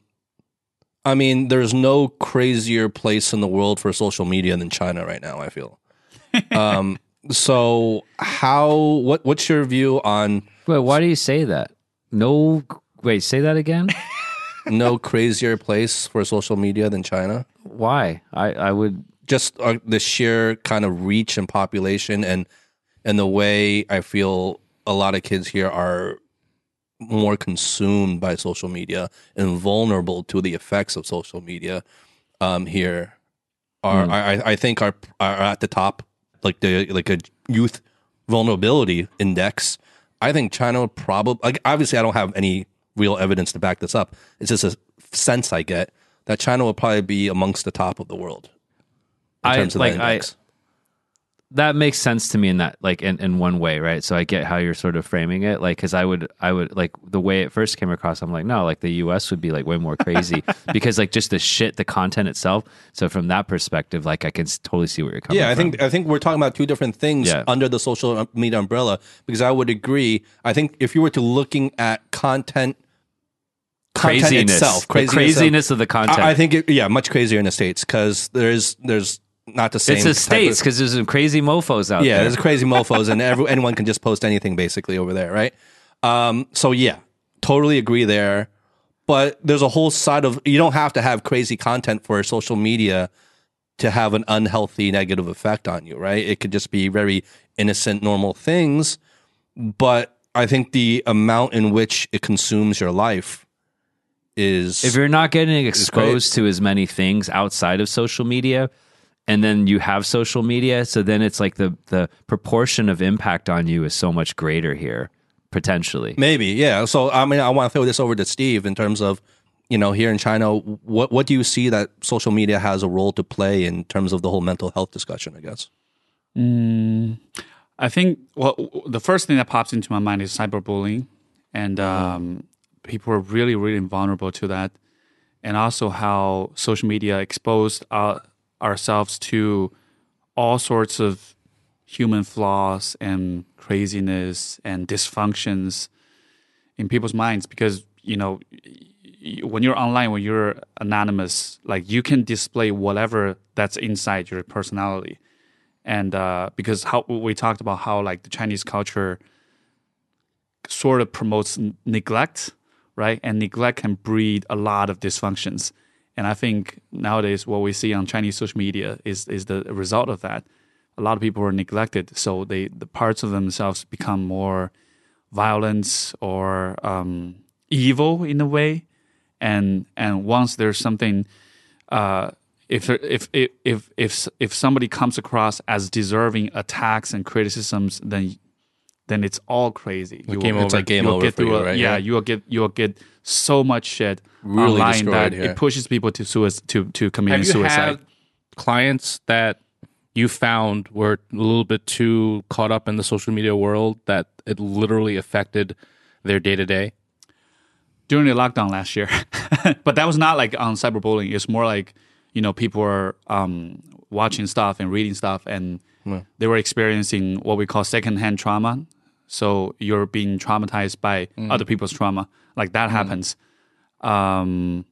I mean, there's no crazier place in the world for social media than China right now, I feel. um, so how what what's your view on Wait, why do you say that? No, wait, say that again. no crazier place for social media than China? Why? I, I would. Just uh, the sheer kind of reach and population, and and the way I feel a lot of kids here are more consumed by social media and vulnerable to the effects of social media um, here are I, I think are are at the top, like the like a youth vulnerability index. I think China probably, like, obviously I don't have any real evidence to back this up. It's just a sense I get that China will probably be amongst the top of the world in I terms of like that I. index. That makes sense to me in that, like, in, in one way, right? So I get how you're sort of framing it, like, because I would, I would, like, the way it first came across, I'm like, no, like, the U S would be, like, way more crazy because, like, just the shit, the content itself. So from that perspective, like, I can s- totally see where you're coming from. Yeah, I think I think we're talking about two different things Yeah. under the social media umbrella, because I would agree. I think if you were to looking at content, content craziness, itself, the craziness, craziness of the content. I, I think it, yeah, much crazier in the States, because there's there's not the same. it's the type States of- because there's some crazy mofos out yeah, there. there's crazy mofos, and every, anyone can just post anything basically over there, right? Um, so yeah, totally agree there. But there's a whole side of, you don't have to have crazy content for social media to have an unhealthy negative effect on you, right? It could just be very innocent, normal things. But I think the amount in which it consumes your life is If you're not getting great. exposed to as many things outside of social media, and then you have social media, so then it's like the the proportion of impact on you is so much greater here, potentially. maybe, yeah. So I mean, I want to throw this over to Steve in terms of, you know, here in China, what what do you see that social media has a role to play in terms of the whole mental health discussion, I guess? I think, well, the first thing that pops into my mind is cyberbullying, and um, people are really, really vulnerable to that, and also how social media exposed our, ourselves to all sorts of human flaws and craziness and dysfunctions in people's minds. Because, you know, y- when you're online, when you're anonymous, like, you can display whatever that's inside your personality. And uh, because how we talked about how, like, the Chinese culture sort of promotes n- neglect, right? And neglect can breed a lot of dysfunctions. And I think nowadays what we see on Chinese social media is is the result of that. A lot of people are neglected, so they the parts of themselves become more violence or um, evil in a way, and and once there's something, uh, if if if if if if somebody comes across as deserving attacks and criticisms, then then it's all crazy. You game will, over. Like game you will over get for through you, a- right? Yeah, Yeah. you will get you will get so much shit Really online destroyed, that yeah. it pushes people to suicide to to Have committing you suicide. had clients that you found were a little bit too caught up in the social media world that it literally affected their day to day? During the lockdown last year, but that was not like on cyberbullying. It's more like, you know, people were um, watching stuff and reading stuff, and they were experiencing what we call secondhand trauma. So you're being traumatized by other people's trauma, like that happens. Um,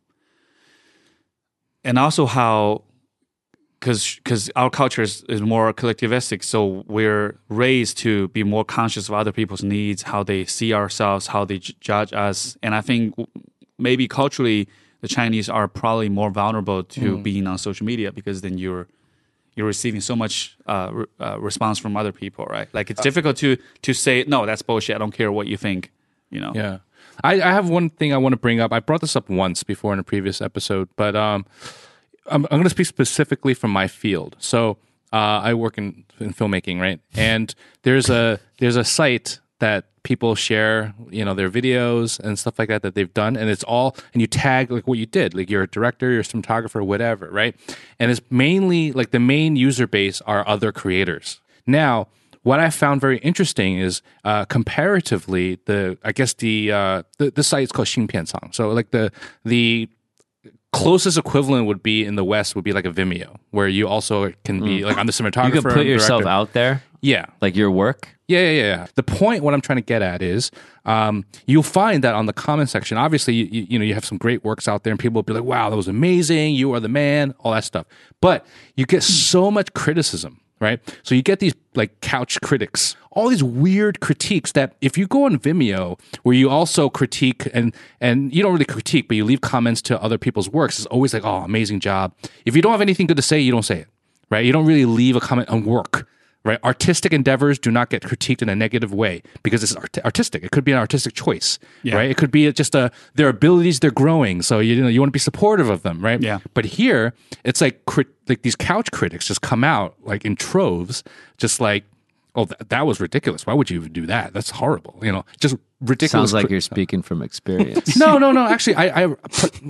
and also how, because because our culture is, is more collectivistic, so we're raised to be more conscious of other people's needs, how they see ourselves, how they j- judge us. And I think w- maybe culturally, the Chinese are probably more vulnerable to being on social media, because then you're you're receiving so much uh, re- uh, response from other people, right? Like it's difficult to to say, no, that's bullshit. I don't care what you think, you know? Yeah. I, I have one thing I want to bring up. I brought this up once before in a previous episode, but um, I'm, I'm going to speak specifically from my field. So uh, I work in, in filmmaking, right? And there's a there's a site that people share, you know, their videos and stuff like that that they've done, and it's all, and you tag like what you did, like you're a director, you're a cinematographer, whatever, right? And it's mainly like the main user base are other creators. Now, what I found very interesting is uh, comparatively the, I guess the uh, the, the site is called Xingpiancang. So like the the closest equivalent would be in the West would be like a Vimeo, where you also can be like, I'm the cinematographer. You can put I'm the yourself director. out there, Yeah. like your work. Yeah, yeah, yeah, yeah. The point, what I'm trying to get at is, um, you'll find that on the comment section, obviously, you, you, you know, you have some great works out there, and people will be like, "Wow, that was amazing! You are the man!" All that stuff. But you get so much criticism, right? So you get these like couch critics, all these weird critiques that if you go on Vimeo, where you also critique and and you don't really critique, but you leave comments to other people's works, it's always like, "Oh, amazing job." If you don't have anything good to say, you don't say it, right? You don't really leave a comment on work. Right, artistic endeavors do not get critiqued in a negative way because it's art- artistic. It could be an artistic choice, Yeah. right? It could be just a their abilities. They're growing, so you know you want to be supportive of them, right? Yeah. But here, it's like crit- like these couch critics just come out like in troves, just like, oh, th- that was ridiculous. Why would you even do that? That's horrible. You know, just ridiculous. Sounds like cri- you're speaking from experience. no, no, no. Actually, I, I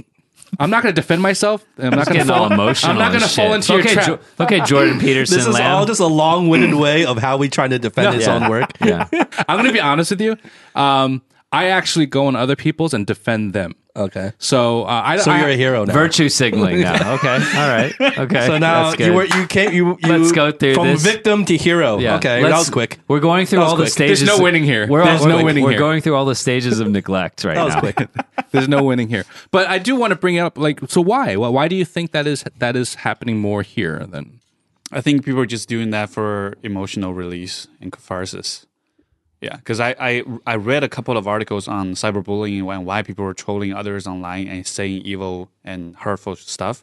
I'm not going to defend myself. I'm not going to Getting fall all emotional. I'm not going to and fall shit. into your okay, trap. Jo- okay, Jordan Peterson. This is Lamb. all just a long-winded way of how we trying to defend his Yeah. own work. Yeah. I'm going to be honest with you. Um, I actually go on other people's and defend them. Okay. So uh, I. So I, you're a hero now. Virtue signaling now. Okay. All right. Okay. So now That's good. you were you came you, you Let's go through from this. victim to hero. Yeah. Okay, Let's- that was quick. We're going through That was all the quick. stages. There's no winning here. We're, There's all, no we're, winning we're here. going through all the stages of neglect right That was now. quick. There's no winning here. But I do want to bring up, like, so why? Why why do you think that is that is happening more here than? I think people are just doing that for emotional release and catharsis. Yeah, because I, I I read a couple of articles on cyberbullying and why people were trolling others online and saying evil and hurtful stuff,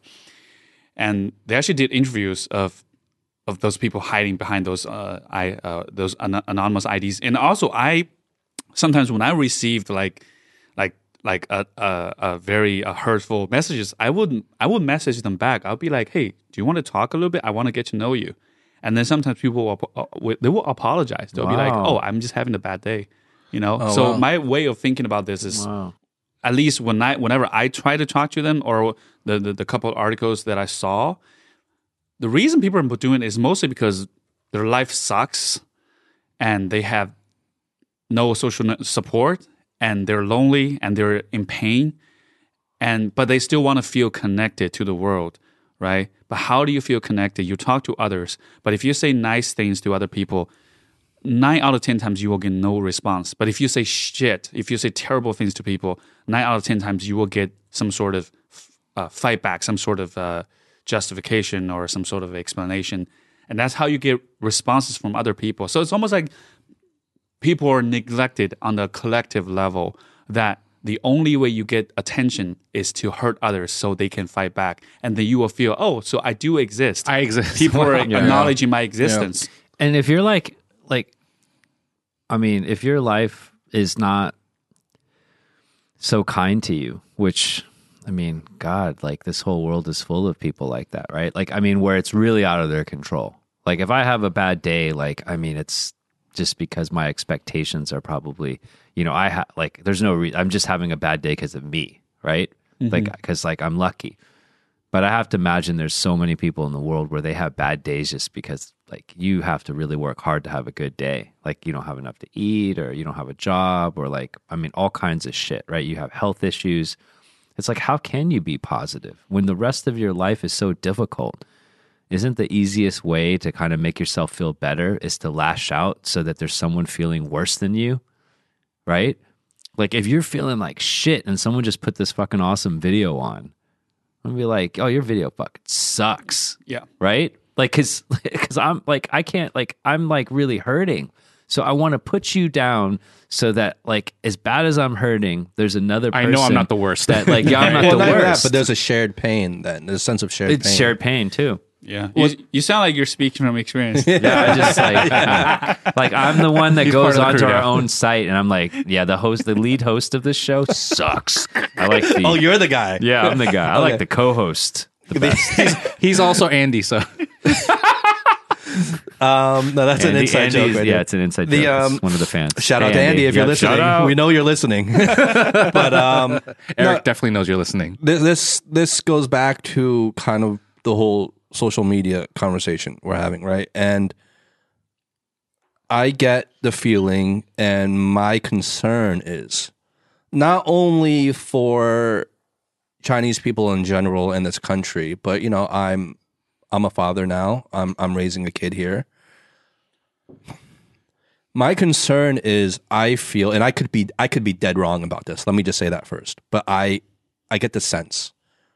and they actually did interviews of of those people hiding behind those uh, I uh, those an- anonymous I Ds. And also, I sometimes when I received like like like a a, a very uh, hurtful messages, I would I would message them back. I'll be like, hey, do you want to talk a little bit? I want to get to know you. And then sometimes people will, uh, will- they will apologize. They'll be like, Wow. "Oh, I'm just having a bad day," you know. Oh, so wow. my way of thinking about this is, Wow. at least when I, whenever I try to talk to them, or the the, the couple of articles that I saw, the reason people are doing it is mostly because their life sucks, and they have no social n- support, and they're lonely, and they're in pain, and but they still want to feel connected to the world. Right? But how do you feel connected? You talk to others, but if you say nice things to other people, nine out of ten times you will get no response. But if you say shit, if you say terrible things to people, nine out of ten times you will get some sort of uh, fight back, some sort of uh, justification or some sort of explanation. And that's how you get responses from other people. So it's almost like people are neglected on the collective level, that the only way you get attention is to hurt others so they can fight back. And then you will feel, oh, so I do exist. I exist. People are Yeah. acknowledging my existence. And if you're like, like, I mean, if your life is not so kind to you, which, I mean, God, like this whole world is full of people like that, right? Like, I mean, where it's really out of their control. Like if I have a bad day, like, I mean, it's just because my expectations are probably, you know, I ha- like, there's no reason, I'm just having a bad day because of me, right? Mm-hmm. Like, because like I'm lucky. But I have to imagine there's so many people in the world where they have bad days just because like you have to really work hard to have a good day. Like you don't have enough to eat, or you don't have a job, or like, I mean, all kinds of shit, right? You have health issues. It's like, how can you be positive when the rest of your life is so difficult? Isn't the easiest way to kind of make yourself feel better is to lash out so that there's someone feeling worse than you, right? Like if you're feeling like shit and someone just put this fucking awesome video on, I'm gonna be like, oh, your video fucking sucks. Yeah. Right? Like, cause, cause I'm like, I can't, like, I'm like really hurting. So I want to put you down so that like, as bad as I'm hurting, there's another person. I know I'm not the worst. That like, yeah, I'm not well, the not even worst. that, but there's a shared pain then. There's a sense of shared it's pain. shared pain too. Yeah. You, you sound like you're speaking from experience. Yeah, I just like, uh, like I'm the one that He's goes part of the onto crew our now. own site, and I'm like, yeah, the host, the lead host of this show sucks. I like the. Oh, you're the guy. Yeah, I'm the guy. I Okay. like the co-host. The best. He's also Andy, so Um, no, that's an Andy- inside joke. Andy's- Right yeah, there. it's an inside The, joke. It's um, one of the fans. Shout out Hey, to Andy if you're Yeah, listening. shout out. We know you're listening. but um, Eric no, definitely knows you're listening. this, this this goes back to kind of the whole social media conversation we're having, right? And I get the feeling, and my concern is not only for Chinese people in general in this country, but you know, I'm I'm a father now. I'm I'm raising a kid here. My concern is I feel, and I could be I could be dead wrong about this. Let me just say that first. But I I get the sense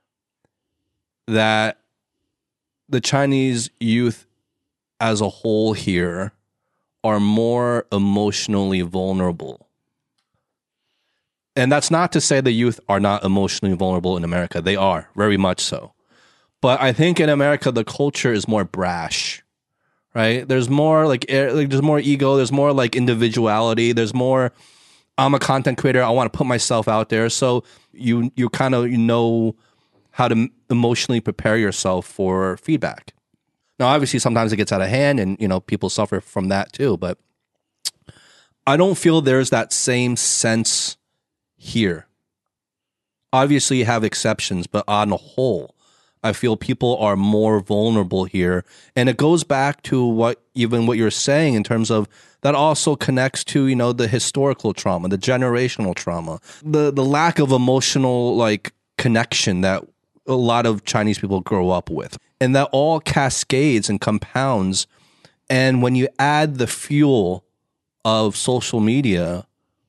that the Chinese youth as a whole here are more emotionally vulnerable. And that's not to say the youth are not emotionally vulnerable in America. They are, very much so. But I think in America, the culture is more brash, right? There's more like, eh, like there's more ego. There's more like individuality. There's more, I'm a content creator. I want to put myself out there. So you you kind of you know how to emotionally prepare yourself for feedback. Now, obviously, sometimes it gets out of hand, and you know people suffer from that too. But I don't feel there's that same sense here. Obviously, you have exceptions, but on the whole, I feel people are more vulnerable here. And it goes back to what even what you're saying in terms of that also connects to, you know, the historical trauma, the generational trauma, the the lack of emotional like connection that a lot of Chinese people grow up with. And that all cascades and compounds. And when you add the fuel of social media,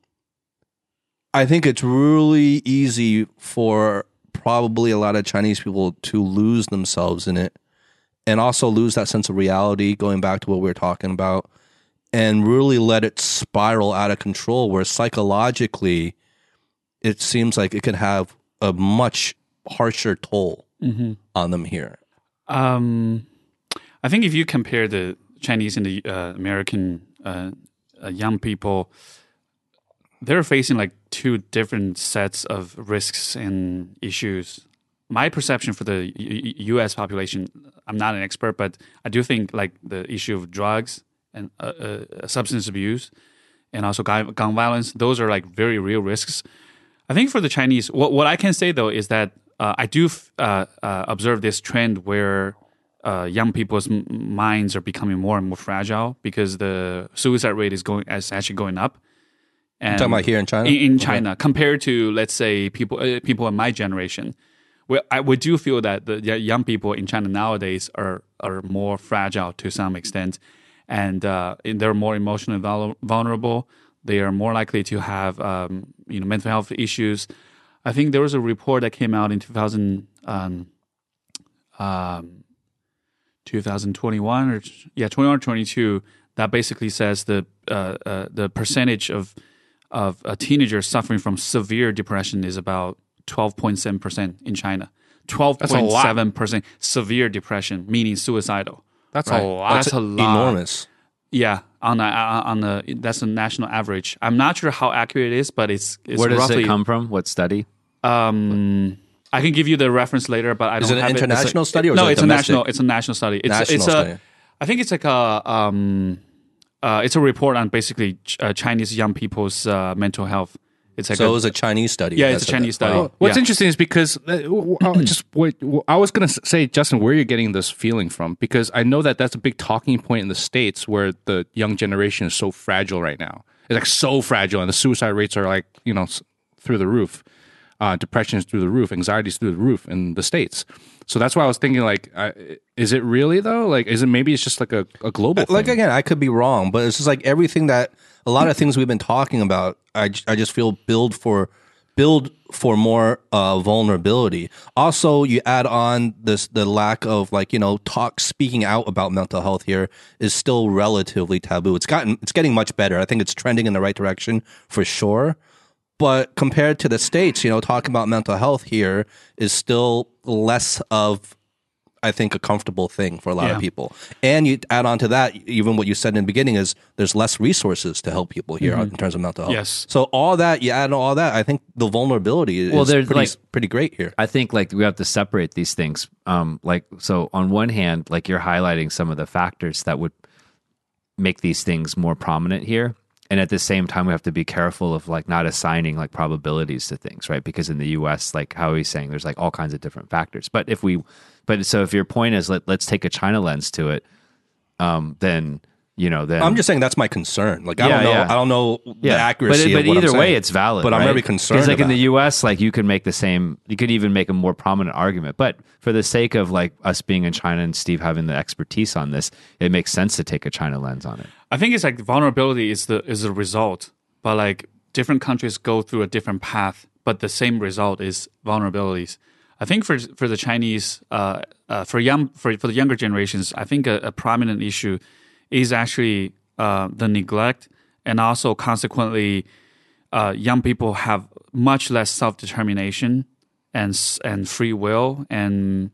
I think it's really easy for probably a lot of Chinese people to lose themselves in it and also lose that sense of reality, going back to what we were talking about, and really let it spiral out of control where psychologically it seems like it could have a much harsher toll Mm-hmm. on them here. Um, I think if you compare the Chinese and the uh, American uh, uh, young people, they're facing like two different sets of risks and issues. My perception for the U- U S population, I'm not an expert, but I do think like the issue of drugs and uh, uh, substance abuse and also gun, gun violence, those are like very real risks. I think for the Chinese, what, what I can say though is that uh, I do f- uh, uh, observe this trend where uh, young people's m- minds are becoming more and more fragile because the suicide rate is going is actually going up. And Talking about here in China? In, in Okay. China, compared to let's say people uh, people in my generation, well, I we do feel that the y- young people in China nowadays are are more fragile to some extent, and uh, and they're more emotionally vul- vulnerable. They are more likely to have um, you know mental health issues. I think there was a report that came out in two thousand, um, um, twenty twenty-one or yeah twenty-one or twenty-two that basically says the uh, uh, the percentage of of uh, teenagers suffering from severe depression is about twelve point seven percent in China. twelve point seven percent severe depression, meaning suicidal. That's Right. a lot. That's a lot. Enormous. Yeah, on a, on the that's a national average. I'm not sure how accurate it is, but it's, it's Where does roughly, it come from? What study? Um, I can give you the reference later, but I Is don't it an have international it. study or is no? it It's domestic? a national. It's a national study. It's National it's study. a. I think it's like a um, uh, it's a report on basically ch- uh, Chinese young people's uh, mental health. It's like So a, it was a Chinese study. yeah, that it's a said Chinese that. study. Wow. What's Yeah. interesting is because uh, w- w- just wait, w- I was going to say, Justin, where you're getting this feeling from, because I know that that's a big talking point in the States where the young generation is so fragile right now. It's like so fragile, and the suicide rates are like, you know, s- through the roof. Uh, depression is through the roof, anxiety is through the roof in the States. So that's why I was thinking, like, uh, is it really though? Like, is it maybe it's just like a, a global Like thing? again, I could be wrong, but it's just like everything that a lot of things we've been talking about. I, j- I just feel build for build for more uh, vulnerability. Also, you add on this the lack of like you know talk speaking out about mental health here is still relatively taboo. It's gotten it's getting much better. I think it's trending in the right direction for sure. But compared to the States, you know, talking about mental health here is still less of, I think, a comfortable thing for a lot Yeah. of people. And you add on to that, even what you said in the beginning is there's less resources to help people here in terms of mental health. Yes. So all that, you add all that, I think the vulnerability is Well, there's, pretty, like- pretty great here. I think like we have to separate these things. Um, like so, on one hand, like you're highlighting some of the factors that would make these things more prominent here, and at the same time, we have to be careful of like not assigning like probabilities to things, right? Because in the U S, like how he's saying, there's like all kinds of different factors. But if we, but so if your point is let let's take a China lens to it, um, then you know, then I'm just saying that's my concern. Like I Yeah, don't know, yeah. I don't know the accuracy But, of but what either I'm way, saying. it's valid. But I'm right? very concerned Because like in about the U S, like you could make the same. You could even make a more prominent argument. But for the sake of like us being in China and Steve having the expertise on this, it makes sense to take a China lens on it. I think it's like vulnerability is the is the result, but like different countries go through a different path, but the same result is vulnerabilities. I think for for the Chinese, uh, uh, for young for for the younger generations, I think a, a prominent issue is actually uh, the neglect, and also consequently, uh, young people have much less self determination and s- and free will and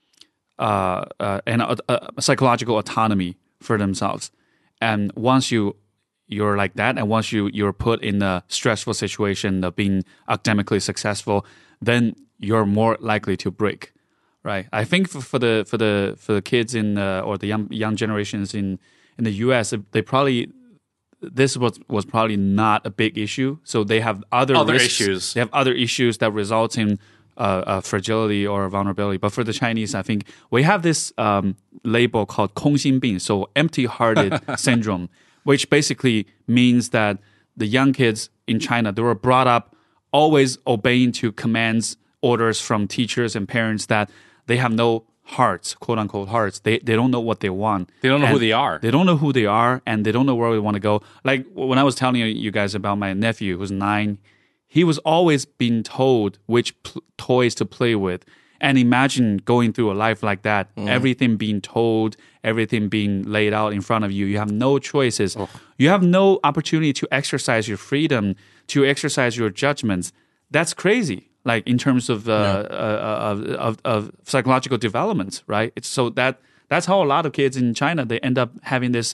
uh, uh, and uh, uh, psychological autonomy for themselves. And once you you're like that, and once you you're put in a stressful situation of being academically successful, then you're more likely to break, right? I think for, for the for the for the kids in uh, or the young young generations in in the U S, they probably this was was probably not a big issue. So they have other Other risks. issues. They have other issues that result in uh, uh, fragility or vulnerability. But for the Chinese, I think we have this um, label called 空心病, so empty-hearted syndrome, which basically means that the young kids in China, they were brought up always obeying to commands, orders from teachers and parents that they have no hearts, quote unquote hearts. They they don't know what they want. They don't know And who they are. They don't know who they are, and they don't know where they want to go. Like when I was telling you guys about my nephew who's nine, he was always being told which pl- toys to play with. And imagine going through a life like that, everything being told, everything being laid out in front of you. You have no choices. You have no opportunity to exercise your freedom, to exercise your judgments. That's crazy. Like in terms of uh, uh, of, of of psychological development, right? It's so that that's how a lot of kids in China they end up having this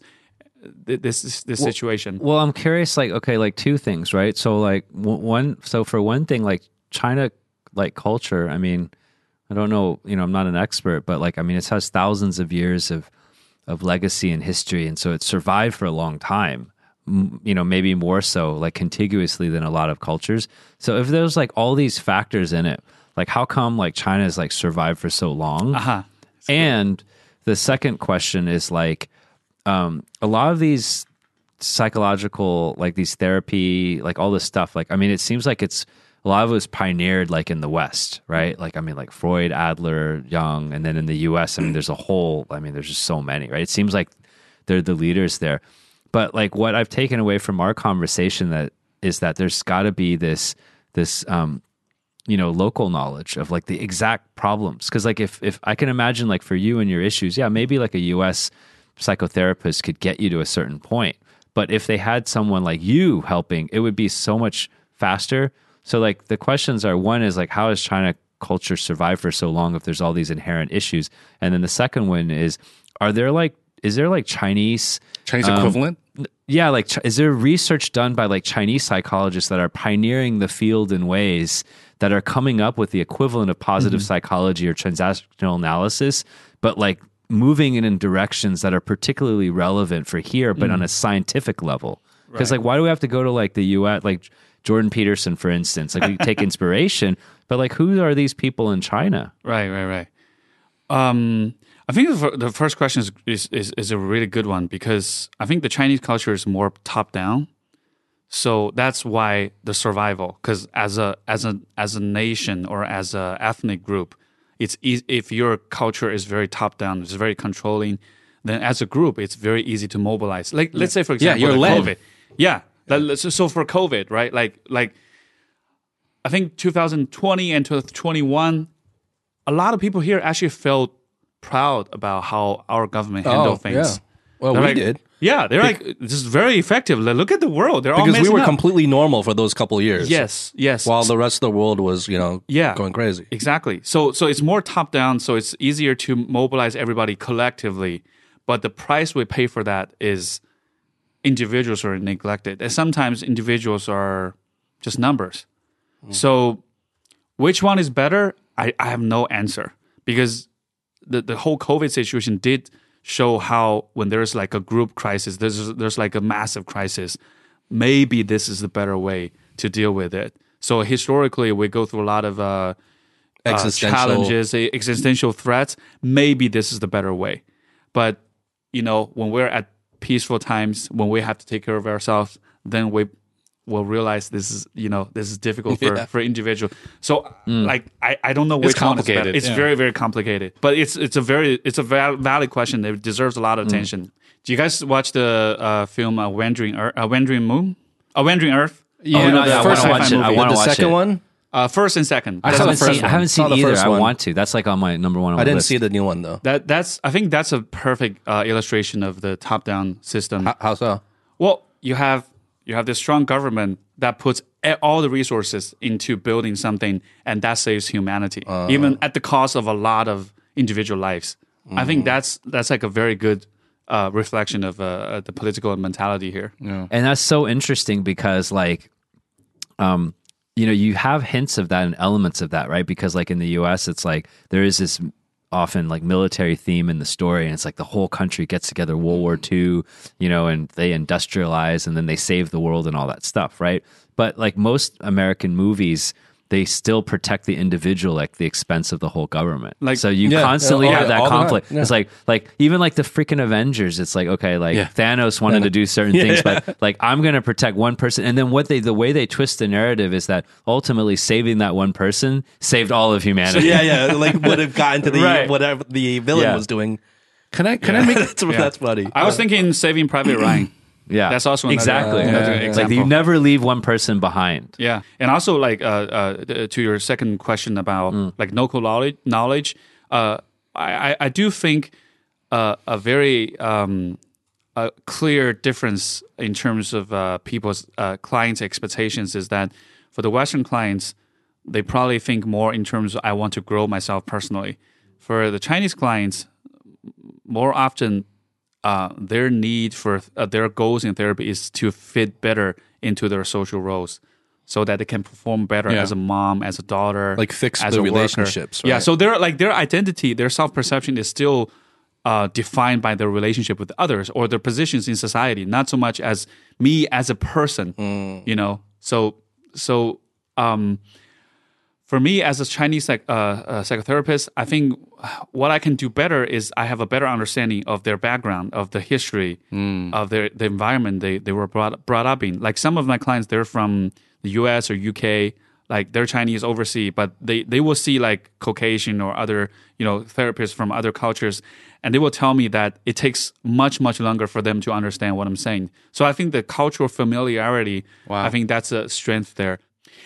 this this, this situation. Well, I'm curious, like, okay, like two things, right? So, like, w- one, so for one thing, like, China, like, culture, I mean, I don't know, you know, I'm not an expert, but, like, I mean, it has thousands of years of, of legacy and history, and so it's survived for a long time, M- you know, maybe more so, like, contiguously than a lot of cultures. So if there's, like, all these factors in it, like, how come, like, China's, like, survived for so long? Uh-huh. And the second question is, like, um, a lot of these psychological, like these therapy, like all this stuff, like, I mean, it seems like it's, a lot of it was pioneered like in the West, right? Like, I mean, like Freud, Adler, Jung, and then in the U S, I mean, there's a whole, I mean, there's just so many, right? It seems like they're the leaders there. But like what I've taken away from our conversation that is that there's got to be this, this, um, you know, local knowledge of like the exact problems. Cause like if, if I can imagine like for you and your issues, yeah, maybe like a U S psychotherapist could get you to a certain point. But if they had someone like you helping, it would be so much faster. So like the questions are, one is like, how has China culture survived for so long if there's all these inherent issues? And then the second one is, are there like is there like Chinese Chinese um, equivalent? Yeah, like Ch- is there research done by like Chinese psychologists that are pioneering the field in ways that are coming up with the equivalent of positive Mm-hmm. psychology or transactional analysis, but like moving it in directions that are particularly relevant for here, but Mm. on a scientific level? Because like, why do we have to go to like the U S, like Jordan Peterson, for instance? Like we take inspiration, but like, who are these people in China? Right, right, right. Um, I think the, fir- the first question is, is is is a really good one because I think the Chinese culture is more top down, so that's why the survival. Because as a as a as a nation or as a ethnic group, it's easy, if your culture is very top down, it's very controlling. Then as a group, it's very easy to mobilize. Like let's say for example, you're the led. COVID. Yeah, that- so, so for COVID, right? Like like I think twenty twenty and twenty twenty-one, a lot of people here actually felt proud about how our government handled Oh, things. yeah. Well, They're we like- did. Yeah, they're like, this is very effective. Like, look at the world. They're all Because we messing were up. completely normal for those couple years. Yes, yes. While the rest of the world was, you know, Yeah. going crazy. Exactly. So so it's more top down, so it's easier to mobilize everybody collectively. But the price we pay for that is individuals are neglected. And sometimes individuals are just numbers. So which one is better? I, I have no answer. Because the, the whole COVID situation did show how when there's like a group crisis, there's there's like a massive crisis, maybe this is the better way to deal with it. So historically, we go through a lot of uh, uh, Existential- challenges, eh, existential threats. Maybe this is the better way. But you know, when we're at peaceful times, when we have to take care of ourselves, then we will realize this is you know this is difficult for Yeah. for individual. So like I, I don't know which one is better. complicated, It's yeah. very very complicated, but it's it's a very it's a val- valid question. It deserves a lot of attention. Do you guys watch the uh, film uh, Wandering Earth, uh, Wandering Moon, uh, Wandering Earth? Yeah, Oh, no, the yeah, I first wanna one. watch it. I movie. wanna the watch second it. one? Uh, first and second. I I saw the haven't first seen, I one. haven't Saw seen the either. first I one. want to. That's like on my number one on I the didn't list. see the new one, though. That that's I think that's a perfect uh, illustration of the top down system. How, how so? Well, you have you have this strong government that puts e- all the resources into building something, and that saves humanity, even at the cost of a lot of individual lives. I think that's that's like a very good uh, reflection of uh, the political mentality here. And that's so interesting because like um you know you have hints of that and elements of that, right? Because like in the U S it's like there is this often like military theme in the story, and it's like the whole country gets together, World War Two, you know, and they industrialize and then they save the world and all that stuff, right? But like most American movies, they still protect the individual at the expense of the whole government. Like- so you Yeah, constantly all- have that all the time, conflict. yeah. It's like like even like the freaking Avengers. It's like okay, like Yeah. Thanos wanted to do certain things, but like I'm going to protect one person, and then what they the way they twist the narrative is that ultimately saving that one person saved all of humanity. Yeah, yeah. Like would have gotten to the Right. whatever the villain Yeah. was doing. Can I can I make that's, that's funny. I was thinking Saving Private Ryan. Yeah, That's also another- exactly. uh, another Like example. you never leave one person behind. Yeah, and also like uh, uh, to your second question about like local knowledge, knowledge, uh, I, I I do think uh, a very um, a clear difference in terms of uh, people's uh, clients' expectations is that for the Western clients, they probably think more in terms of I want to grow myself personally. For the Chinese clients, more often uh, their need for uh, their goals in therapy is to fit better into their social roles, so that they can perform better Yeah. as a mom, as a daughter, Like fix as the a worker. relationships, Yeah, right? so their like their identity, their self perception is still uh, defined by their relationship with others or their positions in society, not so much as me as a person. Mm. You know, so so. Um, for me, as a Chinese psych, uh, uh, psychotherapist, I think what I can do better is I have a better understanding of their background, of the history, of their the environment they, they were brought brought up in. Like some of my clients, they're from the U S or U K, like they're Chinese overseas, but they, they will see like Caucasian or other you know therapists from other cultures, and they will tell me that it takes much much longer for them to understand what I'm saying. So I think the cultural familiarity, I think that's a strength there.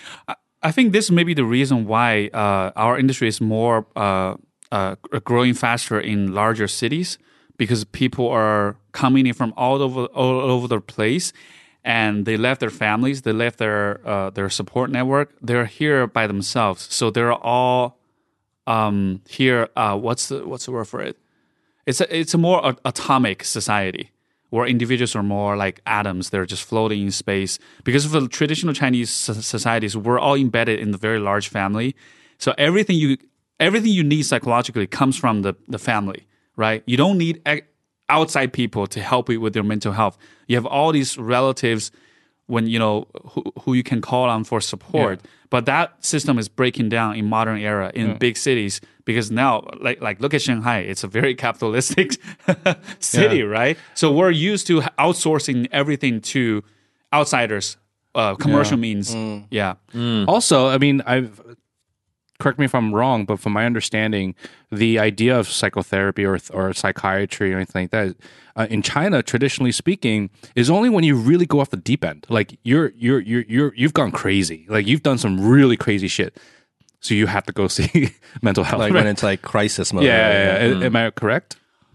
I think this may be the reason why uh, our industry is more uh, uh, growing faster in larger cities, because people are coming in from all over all over the place, and they left their families, they left their uh, their support network. They're here by themselves, so they're all um, here. Uh, what's the what's the word for it? It's a it's a more a- atomic society where individuals are more like atoms. They're just floating in space. Because for the traditional Chinese so- societies, we're all embedded in the very large family. So everything you everything you need psychologically comes from the, the family, right? You don't need e- outside people to help you with your mental health. You have all these relatives when you know who, who you can call on for support. Yeah. But that system is breaking down in modern era in yeah. big cities because now, like like look at Shanghai, it's a very capitalistic city, yeah. right? So we're used to outsourcing everything to outsiders, uh, commercial yeah. means. Mm. Yeah. Mm. Also, I mean, I've. Correct me if I'm wrong, but from my understanding, the idea of psychotherapy or or psychiatry or anything like that, uh, in China, traditionally speaking, is only when you really go off the deep end. Like you're you're you're you're you've gone crazy. Like you've done some really crazy shit. So you have to go see mental health. Like right? when it's like crisis mode. Yeah, right? yeah, yeah. Mm. Am I correct?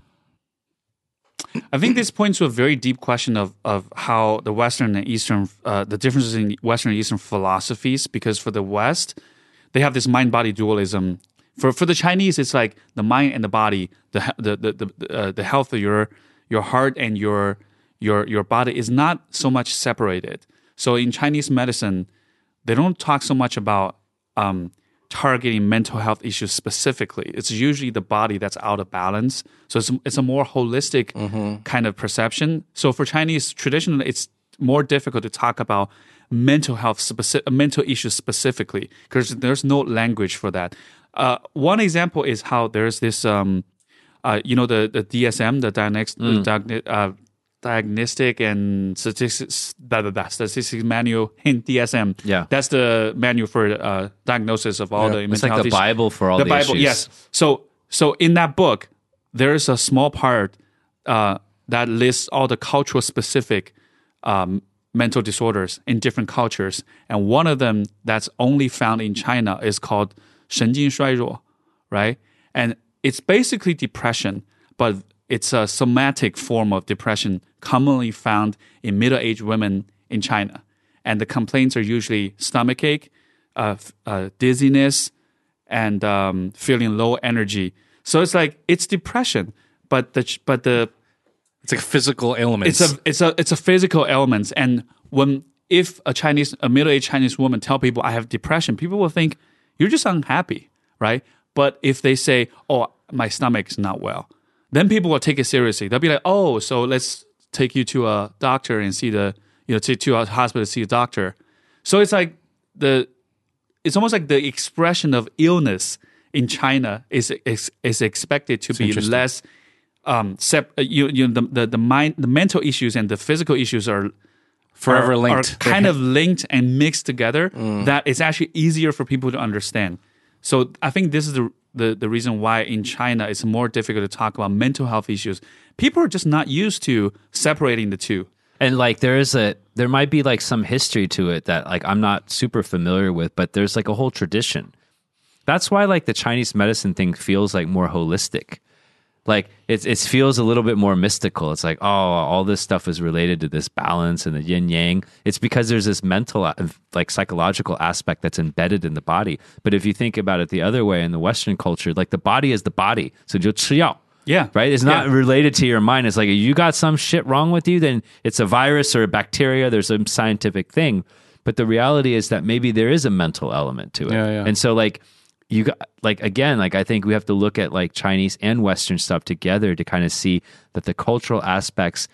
I think this points to a very deep question of of how the Western and Eastern, uh, the differences in Western and Eastern philosophies. Because for the West, they have this mind-body dualism. For for the Chinese, it's like the mind and the body, the the the the, uh, the health of your your heart and your your your body is not so much separated. So in Chinese medicine, they don't talk so much about um, targeting mental health issues specifically. It's usually the body that's out of balance. So it's it's a more holistic mm-hmm. kind of perception. So for Chinese, traditionally, it's more difficult to talk about mental health, specific, mental issues specifically, because there's no language for that. Uh, one example is how there's this, um, uh, you know, the, the D S M, the diagnostic, mm. diagn- uh, diagnostic and statistics, blah, blah, blah, statistics manual in D S M. Yeah, that's the manual for uh, diagnosis of all yeah. the mental it's like health the issues. Bible for all the, the Bible. issues. Yes. So, so in that book, there is a small part uh, that lists all the cultural specific um, mental disorders in different cultures. And one of them that's only found in China is called 神经衰弱, right? And it's basically depression, but it's a somatic form of depression commonly found in middle-aged women in China. And the complaints are usually stomachache, uh, uh, dizziness, and um, feeling low energy. So it's like, it's depression, but the, but the, It's like physical ailments. It's a it's a it's a physical ailments, and when if a Chinese a middle aged Chinese woman tell people I have depression, people will think you're just unhappy, right? But if they say, "Oh, my stomach is not well," then people will take it seriously. They'll be like, "Oh, so let's take you to a doctor and see the you know to to a hospital to see a doctor." So it's like the it's almost like the expression of illness in China is is, is expected to It's be less. Um, sep- you, you the, the the mind, the mental issues and the physical issues are forever are, linked, are kind of linked and mixed together. Mm. That it's actually easier for people to understand. So I think this is the, the the reason why in China it's more difficult to talk about mental health issues. People are just not used to separating the two. And like there is a there might be like some history to it that like I'm not super familiar with, but there's like a whole tradition. That's why like the Chinese medicine thing feels like more holistic. Like it, it feels a little bit more mystical. It's like, oh, all this stuff is related to this balance and the yin yang. It's because there's this mental, like psychological aspect that's embedded in the body. But if you think about it the other way in the Western culture, like the body is the body. So 就吃药. Yeah. Right? It's not yeah. related to your mind. It's like if you got some shit wrong with you, then it's a virus or a bacteria. There's some scientific thing. But the reality is that maybe there is a mental element to it. Yeah, yeah. And so like, you got like again like I think we have to look at like Chinese and Western stuff together to kind of see that the cultural aspects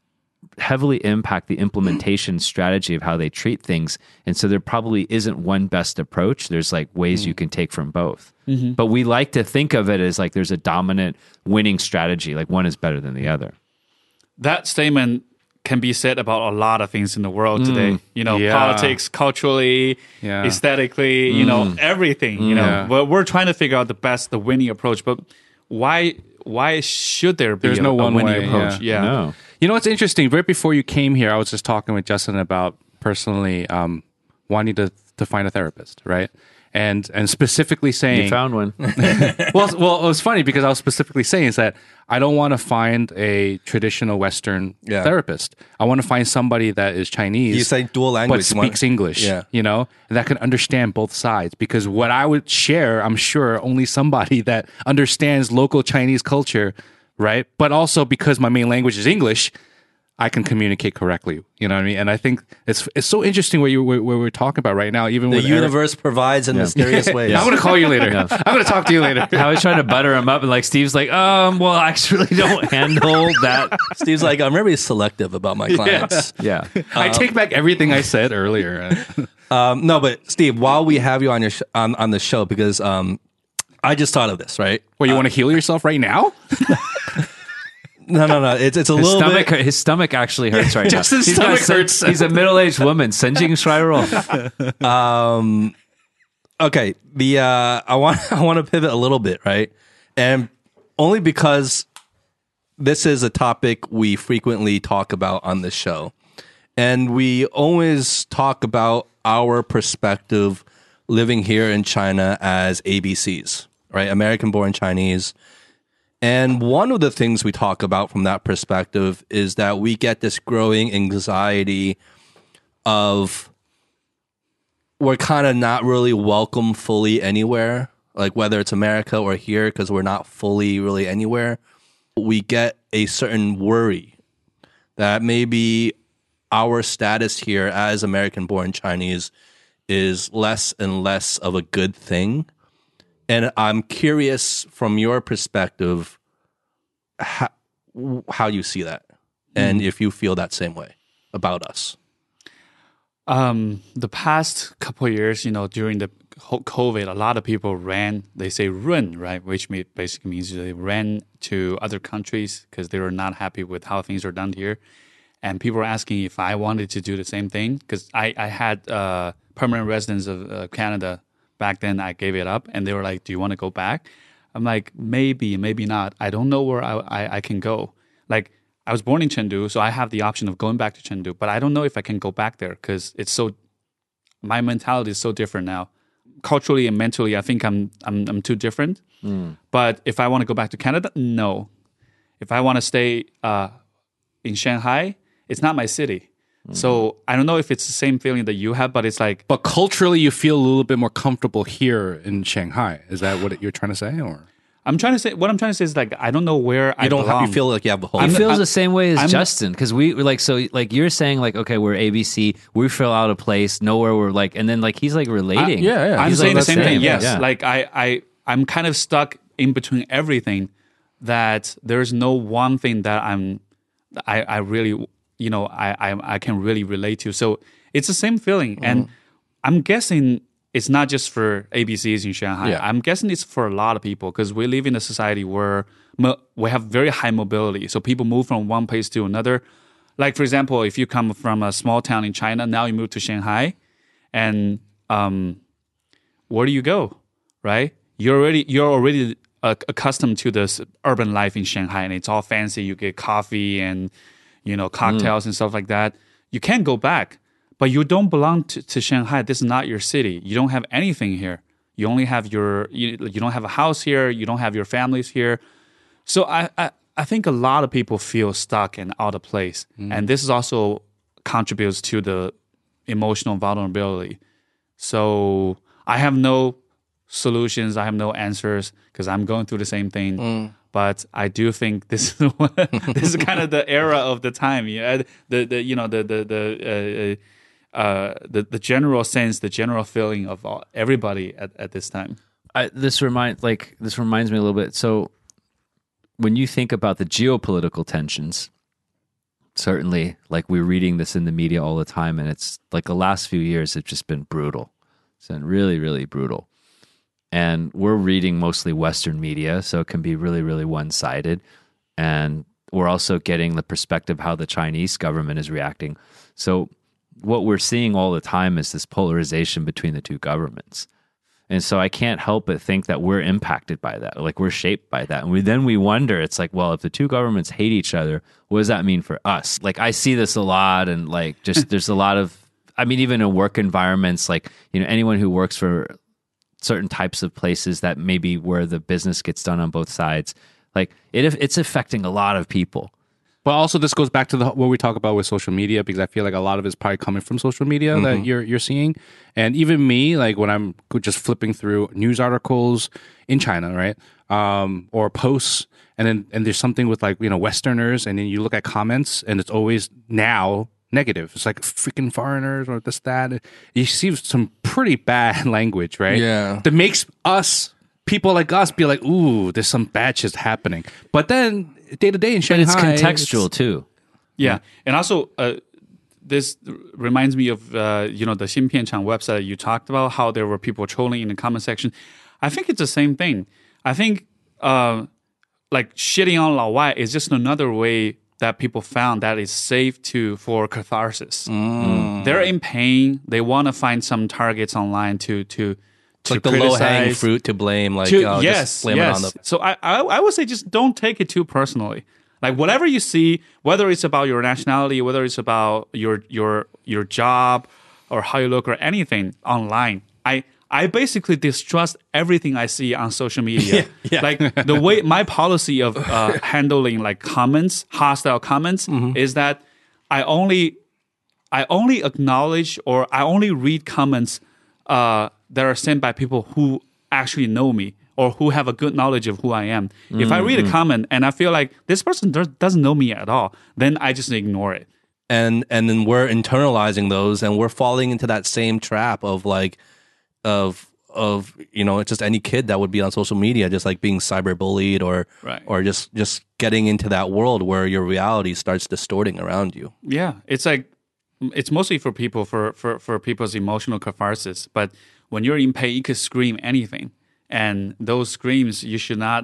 heavily impact the implementation strategy of how they treat things, and so there probably isn't one best approach. There's like ways mm. you can take from both, mm-hmm. but we like to think of it as like there's a dominant winning strategy, like one is better than the other. That statement can be said about a lot of things in the world today. Mm, you know, yeah. politics, culturally, yeah. aesthetically, you mm. know, everything. You know, yeah. but we're trying to figure out the best, the winning approach. But why? Why should there be There's a, no a one winning way, approach? Yeah. Yeah. No. You know what's interesting? Right before you came here, I was just talking with Justin about personally um, wanting to to find a therapist, right? And and specifically saying you found one. well, well, it was funny because I was specifically saying is that I don't want to find a traditional Western Yeah. therapist. I want to find somebody that is Chinese. You say dual language, but you want- speaks English. Yeah. You know, and that can understand both sides. Because what I would share, I'm sure only somebody that understands local Chinese culture right? But also because my main language is English, I can communicate correctly. You know what I mean? And I think it's it's so interesting what you what we're talking about right now. Even The with universe Eric. provides in mysterious ways. I'm going to call you later. I'm going to talk to you later. I was trying to butter him up, and like Steve's like, um, well, I actually don't handle that. Steve's like, I'm very selective about my clients. Yeah. I take back everything I said earlier. Um, no, but Steve, while we have you on your sh- on on the show, because um, I just thought of this, right? Well, you want to heal yourself right now? No, no, no. It's it's a His little stomach, bit. his stomach actually hurts right Just now. his He's got stomach sen- hurts. He's a middle-aged woman. Senjing Shiro. Um, okay, the uh, I want I want to pivot a little bit, right? And only because this is a topic we frequently talk about on this show, and we always talk about our perspective living here in China as A B Cs, right? American-born Chinese. And one of the things we talk about from that perspective is that we get this growing anxiety of we're kind of not really welcome fully anywhere, like whether it's America or here, because we're not fully really anywhere. We get a certain worry that maybe our status here as American-born Chinese is less and less of a good thing. And I'm curious from your perspective how, how you see that and if you feel that same way about us. Um, the past couple of years, you know, during the whole COVID, a lot of people ran, they say run, right? Which mean, basically means they ran to other countries because they were not happy with how things are done here. And people were asking if I wanted to do the same thing because I, I had uh, permanent residence of uh, Canada. Back then, I gave it up, and they were like, "Do you want to go back?" I'm like, "Maybe, maybe not. I don't know where I, I, I can go." Like, I was born in Chengdu, so I have the option of going back to Chengdu, but I don't know if I can go back there because it's so. My mentality is so different now, culturally and mentally. I think I'm I'm I'm too different. Mm. But if I want to go back to Canada, no. If I want to stay uh, in Shanghai, it's not my city. So I don't know if it's the same feeling that you have, but it's like. But culturally, you feel a little bit more comfortable here in Shanghai. Is that what you're trying to say, or? I'm trying to say what I'm trying to say is like I don't know where I You don't belong. have, you feel like you have a whole. He I'm- feels I'm- the same way as I'm- Justin because we were like so like you're saying like okay we're A B C we feel out of place nowhere we're like and then like he's like relating yeah, yeah. I'm He's saying like, the same thing. yeah, Yes, yeah. like I I I'm kind of stuck in between everything. That there's no one thing that I'm I I really you know I I, I can really relate to. So it's the same feeling, and I'm guessing. It's not just for A B Cs in Shanghai. Yeah. I'm guessing it's for a lot of people because we live in a society where mo- we have very high mobility. So people move from one place to another. Like, for example, if you come from a small town in China, now you move to Shanghai, and um, where do you go, right? You're already you're already uh, accustomed to this urban life in Shanghai, and it's all fancy. You get coffee and you know cocktails and stuff like that. You can't go back. But you don't belong to, to Shanghai. This is not your city. You don't have anything here. You only have your, you, you don't have a house here. You don't have your families here. So I, I, I think a lot of people feel stuck and out of place. Mm. And this is also contributes to the emotional vulnerability. So I have no solutions. I have no answers because I'm going through the same thing. Mm. But I do think this is this is kind of the era of the time. Yeah, the the you know the the the. Uh, Uh, the the general sense, the general feeling of all, everybody at, at this time. I, this remind like this reminds me a little bit. So when you think about the geopolitical tensions, certainly, like we're reading this in the media all the time, and it's like the last few years have just been brutal. It's been really, really brutal. And we're reading mostly Western media, so it can be really, really one-sided. And we're also getting the perspective how the Chinese government is reacting. So what we're seeing all the time is this polarization between the two governments. And so I can't help but think that we're impacted by that. Like we're shaped by that. And we, then we wonder, it's like, well, if the two governments hate each other, what does that mean for us? Like I see this a lot and like just there's a lot of, I mean, even in work environments, like, you know, anyone who works for certain types of places that maybe where the business gets done on both sides, like it it's affecting a lot of people. But also, this goes back to the what we talk about with social media, because I feel like a lot of it's probably coming from social media mm-hmm. that you're you're seeing. And even me, like when I'm just flipping through news articles in China, right, um, or posts, and then and there's something with like you know Westerners, and then you look at comments, and it's always now negative. It's like freaking foreigners or this that. You see some pretty bad language, right? Yeah, that makes us. People like us be like, ooh, there's some bad shit happening. But then day to day in Shanghai, but it's contextual it's, too. Yeah, yeah. And also uh, this reminds me of uh, you know the Xinpianchang website that you talked about, how there were people trolling in the comment section. I think it's the same thing. I think uh, like shitting on Lao Wai is just another way that people found that is safe to for catharsis. Mm. They're in pain. They want to find some targets online to to. It's like the low-hanging fruit to blame, like to, oh, yes, just blame yes. it on the. So I, I, I would say just don't take it too personally. Like whatever you see, whether it's about your nationality, whether it's about your your your job or how you look or anything online, I I basically distrust everything I see on social media. yeah, yeah. Like the way my policy of uh, handling like comments, hostile comments, mm-hmm. is that I only I only acknowledge or I only read comments. Uh, that are sent by people who actually know me or who have a good knowledge of who I am. Mm-hmm. If I read a comment and I feel like this person does, doesn't know me at all, then I just ignore it. And and then we're internalizing those, and we're falling into that same trap of like, of of you know, it's just any kid that would be on social media, just like being cyberbullied or right. or just just getting into that world where your reality starts distorting around you. Yeah, it's like it's mostly for people for for for people's emotional catharsis, but. When you're in pain, you could scream anything. And those screams, you should not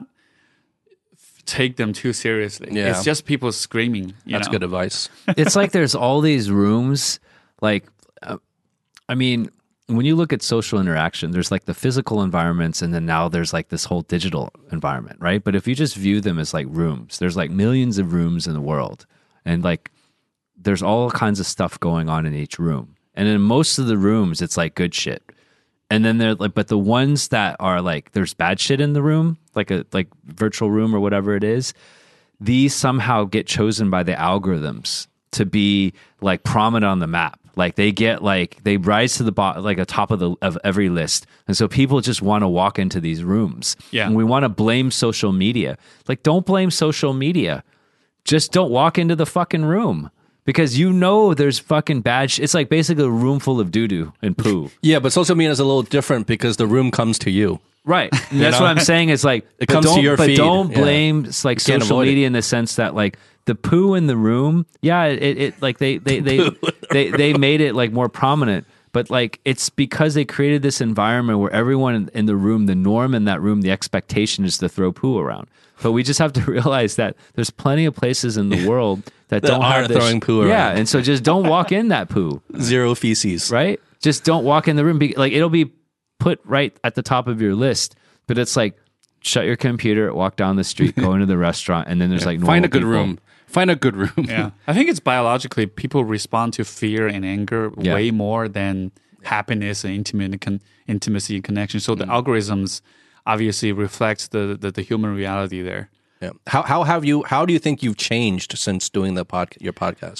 f- take them too seriously. Yeah. It's just people screaming. You That's know? good advice. It's like there's all these rooms. Like, uh, I mean, when you look at social interaction, there's like the physical environments, and then now there's like this whole digital environment, right? But if you just view them as like rooms, there's like millions of rooms in the world. And like, there's all kinds of stuff going on in each room. And in most of the rooms, it's like good shit. And then they're like, but the ones that are like, there's bad shit in the room, like a like virtual room or whatever it is. These somehow get chosen by the algorithms to be like prominent on the map. Like they get like they rise to the bottom, like a top of the of every list, and so people just want to walk into these rooms. Yeah, and we want to blame social media. Like, don't blame social media. Just don't walk into the fucking room. Because you know there's fucking bad shit. It's like basically a room full of doo-doo and poo. Yeah, but social media is a little different because the room comes to you. Right. And that's know? what I'm saying. Is like, it comes to your but feed. But don't yeah. blame like social media it. in the sense that like the poo in the room, yeah, it, it like they they they, they, they made it like more prominent. But like it's because they created this environment where everyone in, in the room, the norm in that room, the expectation is to throw poo around. But we just have to realize that there's plenty of places in the world that, that don't have this, throwing poo around. Yeah, and so just don't walk in that poo. Zero feces. Right? Just don't walk in the room. Like it'll be put right at the top of your list. But it's like shut your computer, walk down the street, go into the restaurant, and then there's yeah. like normal find a good people. room. Find a good room. Yeah, I think it's biologically people respond to fear and anger yeah. way more than happiness and intimate con- intimacy and connection. So the mm. algorithms obviously reflects the, the the human reality there. Yeah. How how have you? How do you think you've changed since doing the pod, your podcast?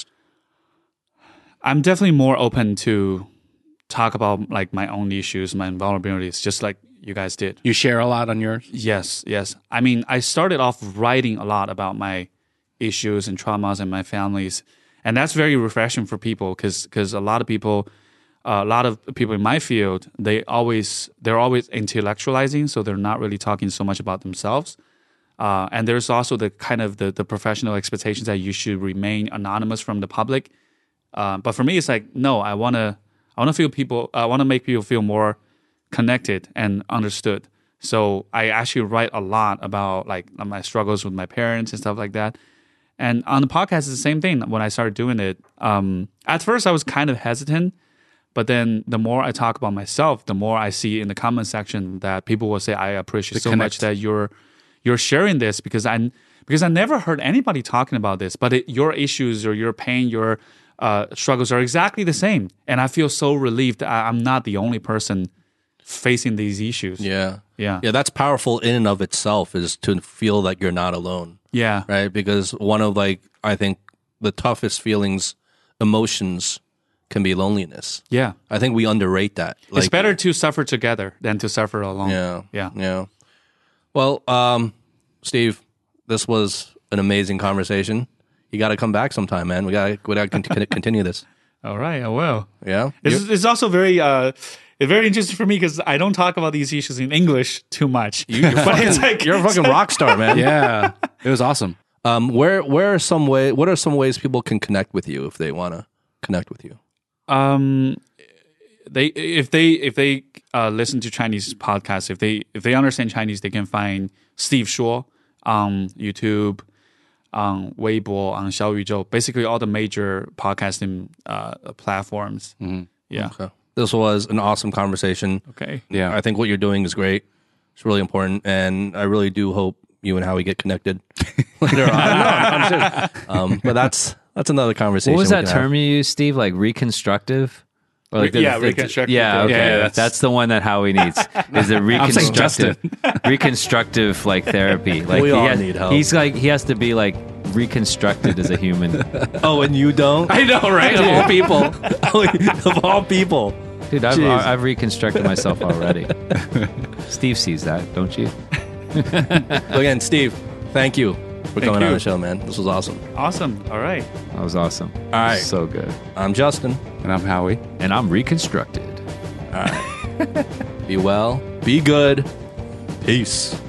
I'm definitely more open to talk about like my own issues, my vulnerabilities, just like you guys did. You share a lot on yours? Yes, yes. I mean, I started off writing a lot about my issues and traumas and my families, and that's very refreshing for people because because a lot of people. Uh, a lot of people in my field, they always they're always intellectualizing, so they're not really talking so much about themselves. Uh, and there's also the kind of the, the professional expectations that you should remain anonymous from the public. Uh, but for me, it's like no, I wanna I wanna feel people. I wanna make people feel more connected and understood. So I actually write a lot about like my struggles with my parents and stuff like that. And on the podcast, it's the same thing. When I started doing it, um, at first I was kind of hesitant. But then the more I talk about myself, the more I see in the comment section that people will say, I appreciate so much that you're you're sharing this because I because I never heard anybody talking about this. But it, your issues or your pain, your uh, struggles are exactly the same. And I feel so relieved that I, I'm not the only person facing these issues. Yeah. Yeah. Yeah, that's powerful in and of itself is to feel that you're not alone. Yeah. right? Because one of like I think the toughest feelings, emotions, can be loneliness. Yeah. I think we underrate that. It's Like, better to suffer together than to suffer alone. Yeah, Yeah. yeah. Well, um, Steve, this was an amazing conversation. You got to come back sometime, man. We got we got to con- continue this. All right, I will. Yeah. It's, it's also very uh, it's very interesting for me because I don't talk about these issues in English too much. You, you're, But fucking, it's like- you're a fucking rock star, man. Yeah, it was awesome. Um, where where are some way? What are some ways people can connect with you if they want to connect with you? Um, they if they if they uh, listen to Chinese podcasts, if they if they understand Chinese, they can find Steve Shuo on YouTube, on Weibo, on Xiaoyuzhou, basically all the major podcasting uh, platforms. Yeah. Okay. This was an awesome conversation. Okay. Yeah, I think what you're doing is great. It's really important, and I really do hope you and Howie get connected later on. No, I'm serious. Um, but that's that's another conversation. What was we that can term have. you used, Steve? Like reconstructive? Or Re- the- yeah, the- reconstructive Yeah, therapy. okay. Yeah, yeah, that's, that's- the one that Howie needs. Is the saying reconstructive, reconstructive like therapy. Like We he all has, need help. He's like he has to be like reconstructed as a human. Oh, and you don't? I know, right? Of all people. Of all people. Dude, I've, Jeez. I've reconstructed myself already. Steve sees that, don't you? Again, Steve, thank you for coming you. on the show, man. This was awesome. Awesome. All right. That was awesome. All right. So good. I'm Justin. And I'm Howie. And I'm reconstructed. Be well. Be good. Peace.